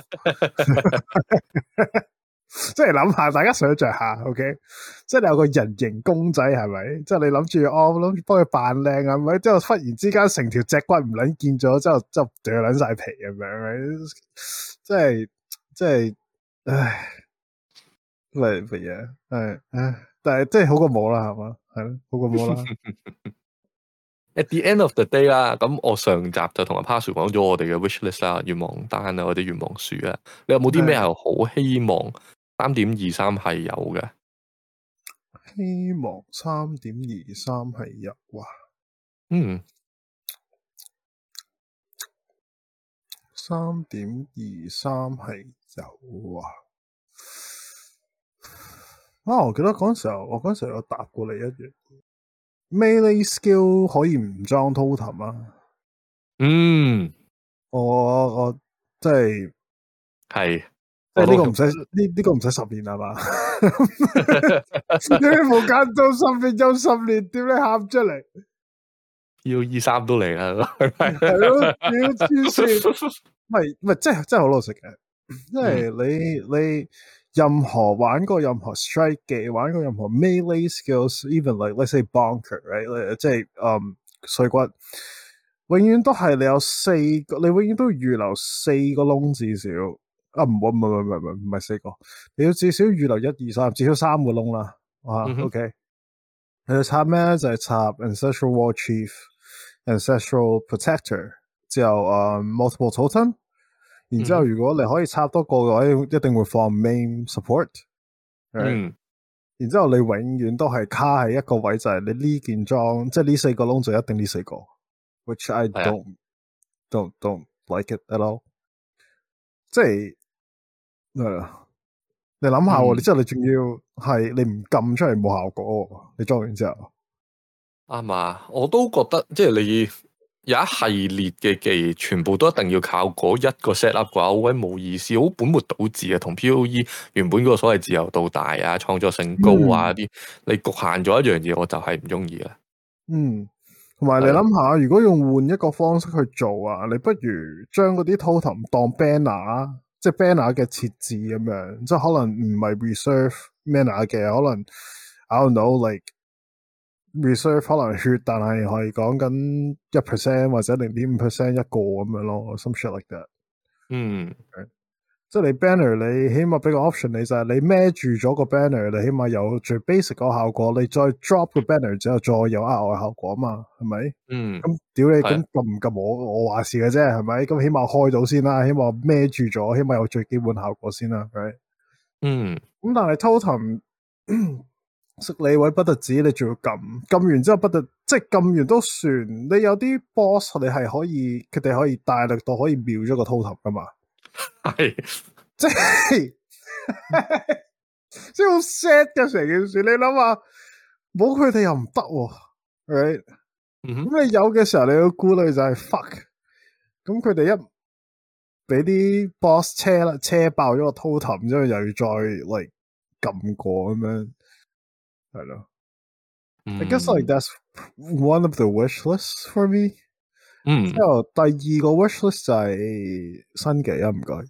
候。即係諗下，大家想象下 ，OK， 即係你有個人形公仔係咪？即係你諗住哦，諗住幫佢扮靚係咪？之後忽然之間成條脊骨唔捻見咗，之後之後掉捻晒皮咁樣，即係即係，唉，乜乜嘢？係唉，但係即係好過冇啦，係嘛？係咯，好過冇啦。 At the end of the day 啦，咁我上集就同阿 Pazu 講咗我哋嘅 wish list 啦、願望單啊，或者願望樹啊，你有冇啲咩係好希望三點二三係有嘅？ 希望三點二三係有啊。 嗯， 三點二三係有啊。啊，我記得嗰陣時候，我嗰陣時候有答過你一樣。Melee skill 可以唔裝 totem 啊？ 嗯， 我我即係係， 即係呢個唔使呢呢個唔使十年係嘛？你冇間到十年有十年，點你喊出嚟？ 要二三都嚟啦， 係咯，要黐線，唔係唔係，即係真係好老實嘅，即係你你。任何玩過任何 strike 嘅，玩過任何 melee skills，even like let's say bonker，right？即係嗯碎骨，永遠都係你有四個，你永遠都預留四個窿至少。啊唔好唔係唔係唔係唔係四個，你要至少預留一二三，至少三個窿啦。啊、嗯、，OK。你要插咩？就係、是、插 ancestral war chief、ancestral protector，之後誒、um, multiple totem。然之後，如果你可以插多個嘅話，一定會放 main support。Right? 嗯。 然之後，你永遠都係卡喺一個位，就係你呢件裝，即係呢四個窿就一定呢四個。Which I don't don't don't like it at all。即係誒，你諗下喎，你之後你仲要係你唔撳出嚟冇效果，你裝完之後。 啱啊，我都覺得即係你。有一系列嘅技，全部都一定要靠嗰一個 set up 嘅話，好鬼冇意思，好本末倒置啊！同 P O E 原本嗰個所謂自由度大啊、創作性高啊啲、嗯，你局限咗一樣嘢，我就係唔中意啦。 嗯，同埋你諗下，如果用換一個方式去做啊，你不如將嗰啲 totem 當 banner，即係 banner 嘅設置咁樣，即係可能唔係 reserve mana 嘅，可能 I don't know like。reserve 可能血，但係係講緊一 percent 或者零點五 percent 一個咁樣咯，some shit like that。 嗯， okay? 即係你 banner，你起碼俾個 option 你就係你孭住咗個 banner，你起碼有最 basic 個效果，你再 drop 個 banner 之後再有額外效果嘛，係咪？ 嗯， 咁屌你，咁撳唔撳我我話事嘅啫，係咪？咁起碼開到先啦，起碼孭住咗，起碼有最基本效果先啦，係咪？ 嗯， 咁但係 totem。識你位不特止，你仲要撳撳完之後不特，即係撳完都算。你有啲 boss 你係可以，佢哋可以大力到可以秒咗個 totem 噶嘛？ 係， 即係即係好 sad 嘅成件事。你諗下，冇佢哋又唔得喎。咁、right? 嗯、 你有嘅時候，你要顧慮就係 fuck。咁佢哋一俾啲 boss 車啦，車爆咗個 totem 之後，又要再嚟撳過咁樣。係咯、嗯、I guess like that's one of the wish lists for me。嗯，之後第二個 wish list 就係新技啊，唔該。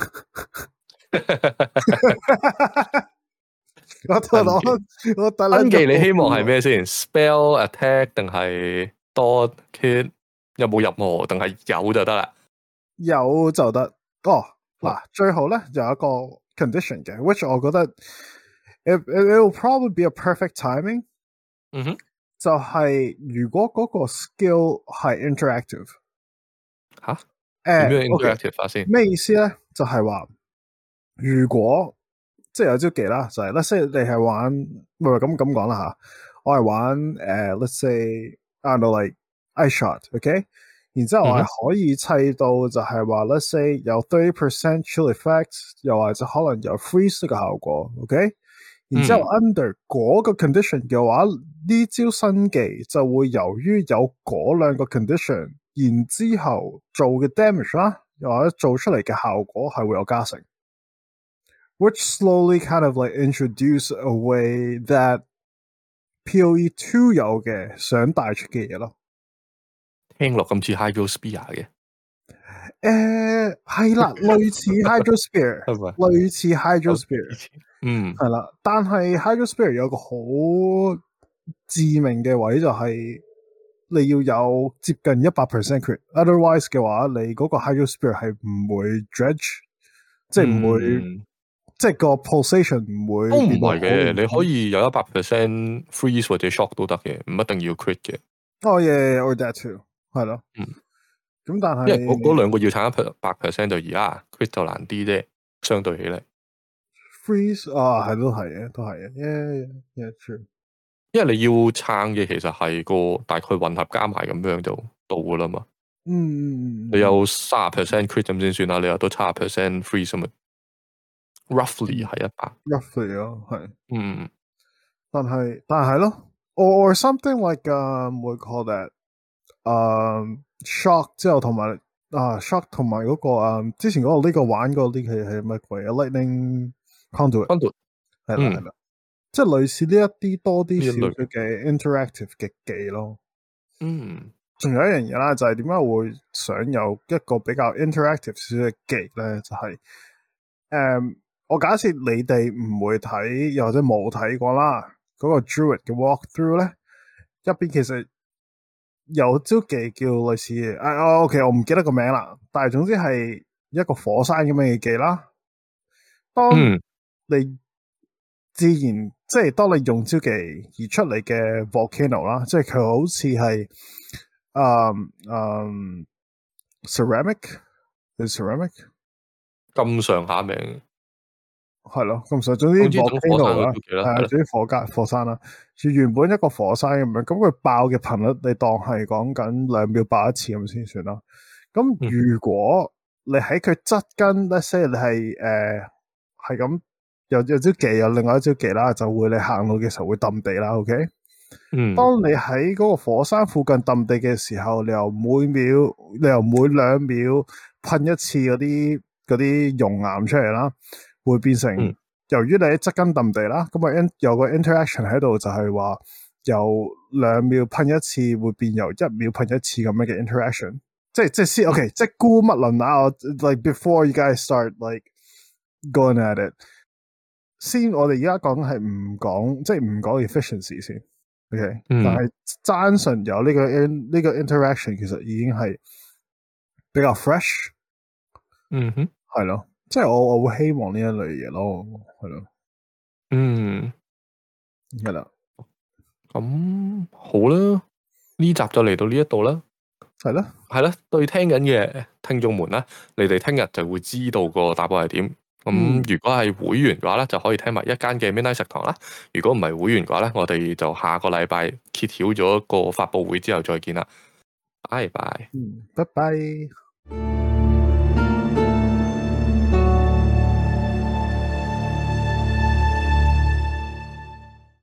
我我我第新技你希望係咩先 ？Spell attack 定係 dot kit？ 有冇任何定係有就得啦？ 有就得。哦，嗱，最後咧有一個 condition 嘅 ，which 我覺得。It, it will probably be a perfect timing。 嗯哼， 就係如果嗰個 skill 係 interactive。 吓？點樣 interactive 法先？ 咩意思咧？就係、是、話如果即係有招技啦，就係、是、let's say 你係玩，唔係咁咁講啦吓，我係玩誒、uh, let's say I don't know like ice shot，OK？、Okay? 然之後我係可以砌到就係話、mm-hmm. let's say 有 thirty percent chill effect，又或者可能有 freeze 嘅效果，OK？ 然之後 under 嗰個 condition 嘅話，呢招新技就會由於有嗰兩個 condition，然之後做嘅 damage 啦，又或者做出嚟嘅效果係會有加成。Which slowly kind of like introduce a way that P O E two 有嘅想帶出嘅嘢咯。 聽落咁似 Hydro Spear 嘅。 誒係啦，類似 Hydro Spear，類似 Hydro Spear， 嗯， 係啦。但係 Hydro Spear 有個好致命嘅位就係你要有接近一百 percent crit，otherwise 嘅話，你嗰個 Hydro Spear 係唔會 dredge，即係唔會。嗯即係個 pulsation 唔會都唔係嘅，你可以有一百 percent freeze 或者 shock 都得嘅，唔一定要 crit 嘅。 哦耶 or that too，係咯。嗯，咁但係因為嗰兩個要撐一百 percent 就易啊 ，crit 就難啲啫，相對起嚟。 freeze 啊，係都係嘅，都係嘅，yeah yeah true。 因為你要撐嘅其實係個大概混合加埋咁樣就到噶啦嘛。 嗯， 你有三十 percent crit 咁先算啦，你又都七十 percent freeze 咁咪。roughly 係一百 roughly 咯，係， 嗯， 但係但係咯 ，or something like um we call that，嗯、um, shock 之後同埋啊 shock 同埋嗰個啊、um, 之前嗰個呢個玩嗰個呢係係乜鬼啊 lightning conduit，conduit 係啦係啦，即係類似呢一啲多啲少少嘅 interactive 嘅技咯， 嗯， 仲有一樣嘢啦，就係點解會想有一個比較 interactive 少少嘅技咧，就係、是、誒。Um, 我假設你哋唔會睇，又或者冇睇過啦，嗰、那個 Druid 嘅 walkthrough 咧，入邊其實有招技叫類似嘅，啊，OK，我唔記得個名啦，但係總之係一個火山咁樣嘅技啦。當你自然、嗯、即係當你用招技而出嚟嘅 volcano 啦，即係佢好似係，嗯嗯 ceramic，係 ceramic 咁上下名。 係咯，咁所以總之 volcano 啦，係啊，總之火山火山啦，原本一個火山咁樣，咁佢爆嘅頻率你當係講緊兩秒爆一次咁先算啦。咁如果你喺佢側跟 let's say 你係誒係咁有有招技，有另外一招技啦，就會你行路嘅時候會揼地啦。OK，嗯，當你喺嗰個火山附近揼地嘅時候，你由每秒你由每兩秒噴一次嗰啲嗰啲熔岩出嚟啦。會變成，嗯、由於你喺側根揼地啦，咁啊有個 interaction 喺度，就係話由兩秒噴一次，會變由一秒噴一次咁樣嘅 interaction。即係即係先 ，OK，即係姑勿論啊 ，like before you guys start like going at it，先我哋而家講係唔講，即係唔講 efficiency 先 ，OK，嗯、但係單純有呢、這個 in 呢個 interaction，其實已經係比較 fresh。 嗯哼， 係咯。即係我我會希望呢一類嘢咯，係咯， 嗯， 係啦， 咁好啦，呢集就嚟到呢一度啦， 係啦， 係啦，對聽緊嘅聽眾們啦，你哋聽日就會知道個答案係點。咁、嗯、如果係會員嘅話咧，就可以聽埋一間嘅 Midnight 食堂啦。如果唔係會員嘅話咧，我哋就下個禮拜揭曉咗個發佈會之後再見啦。拜拜， 嗯，拜拜。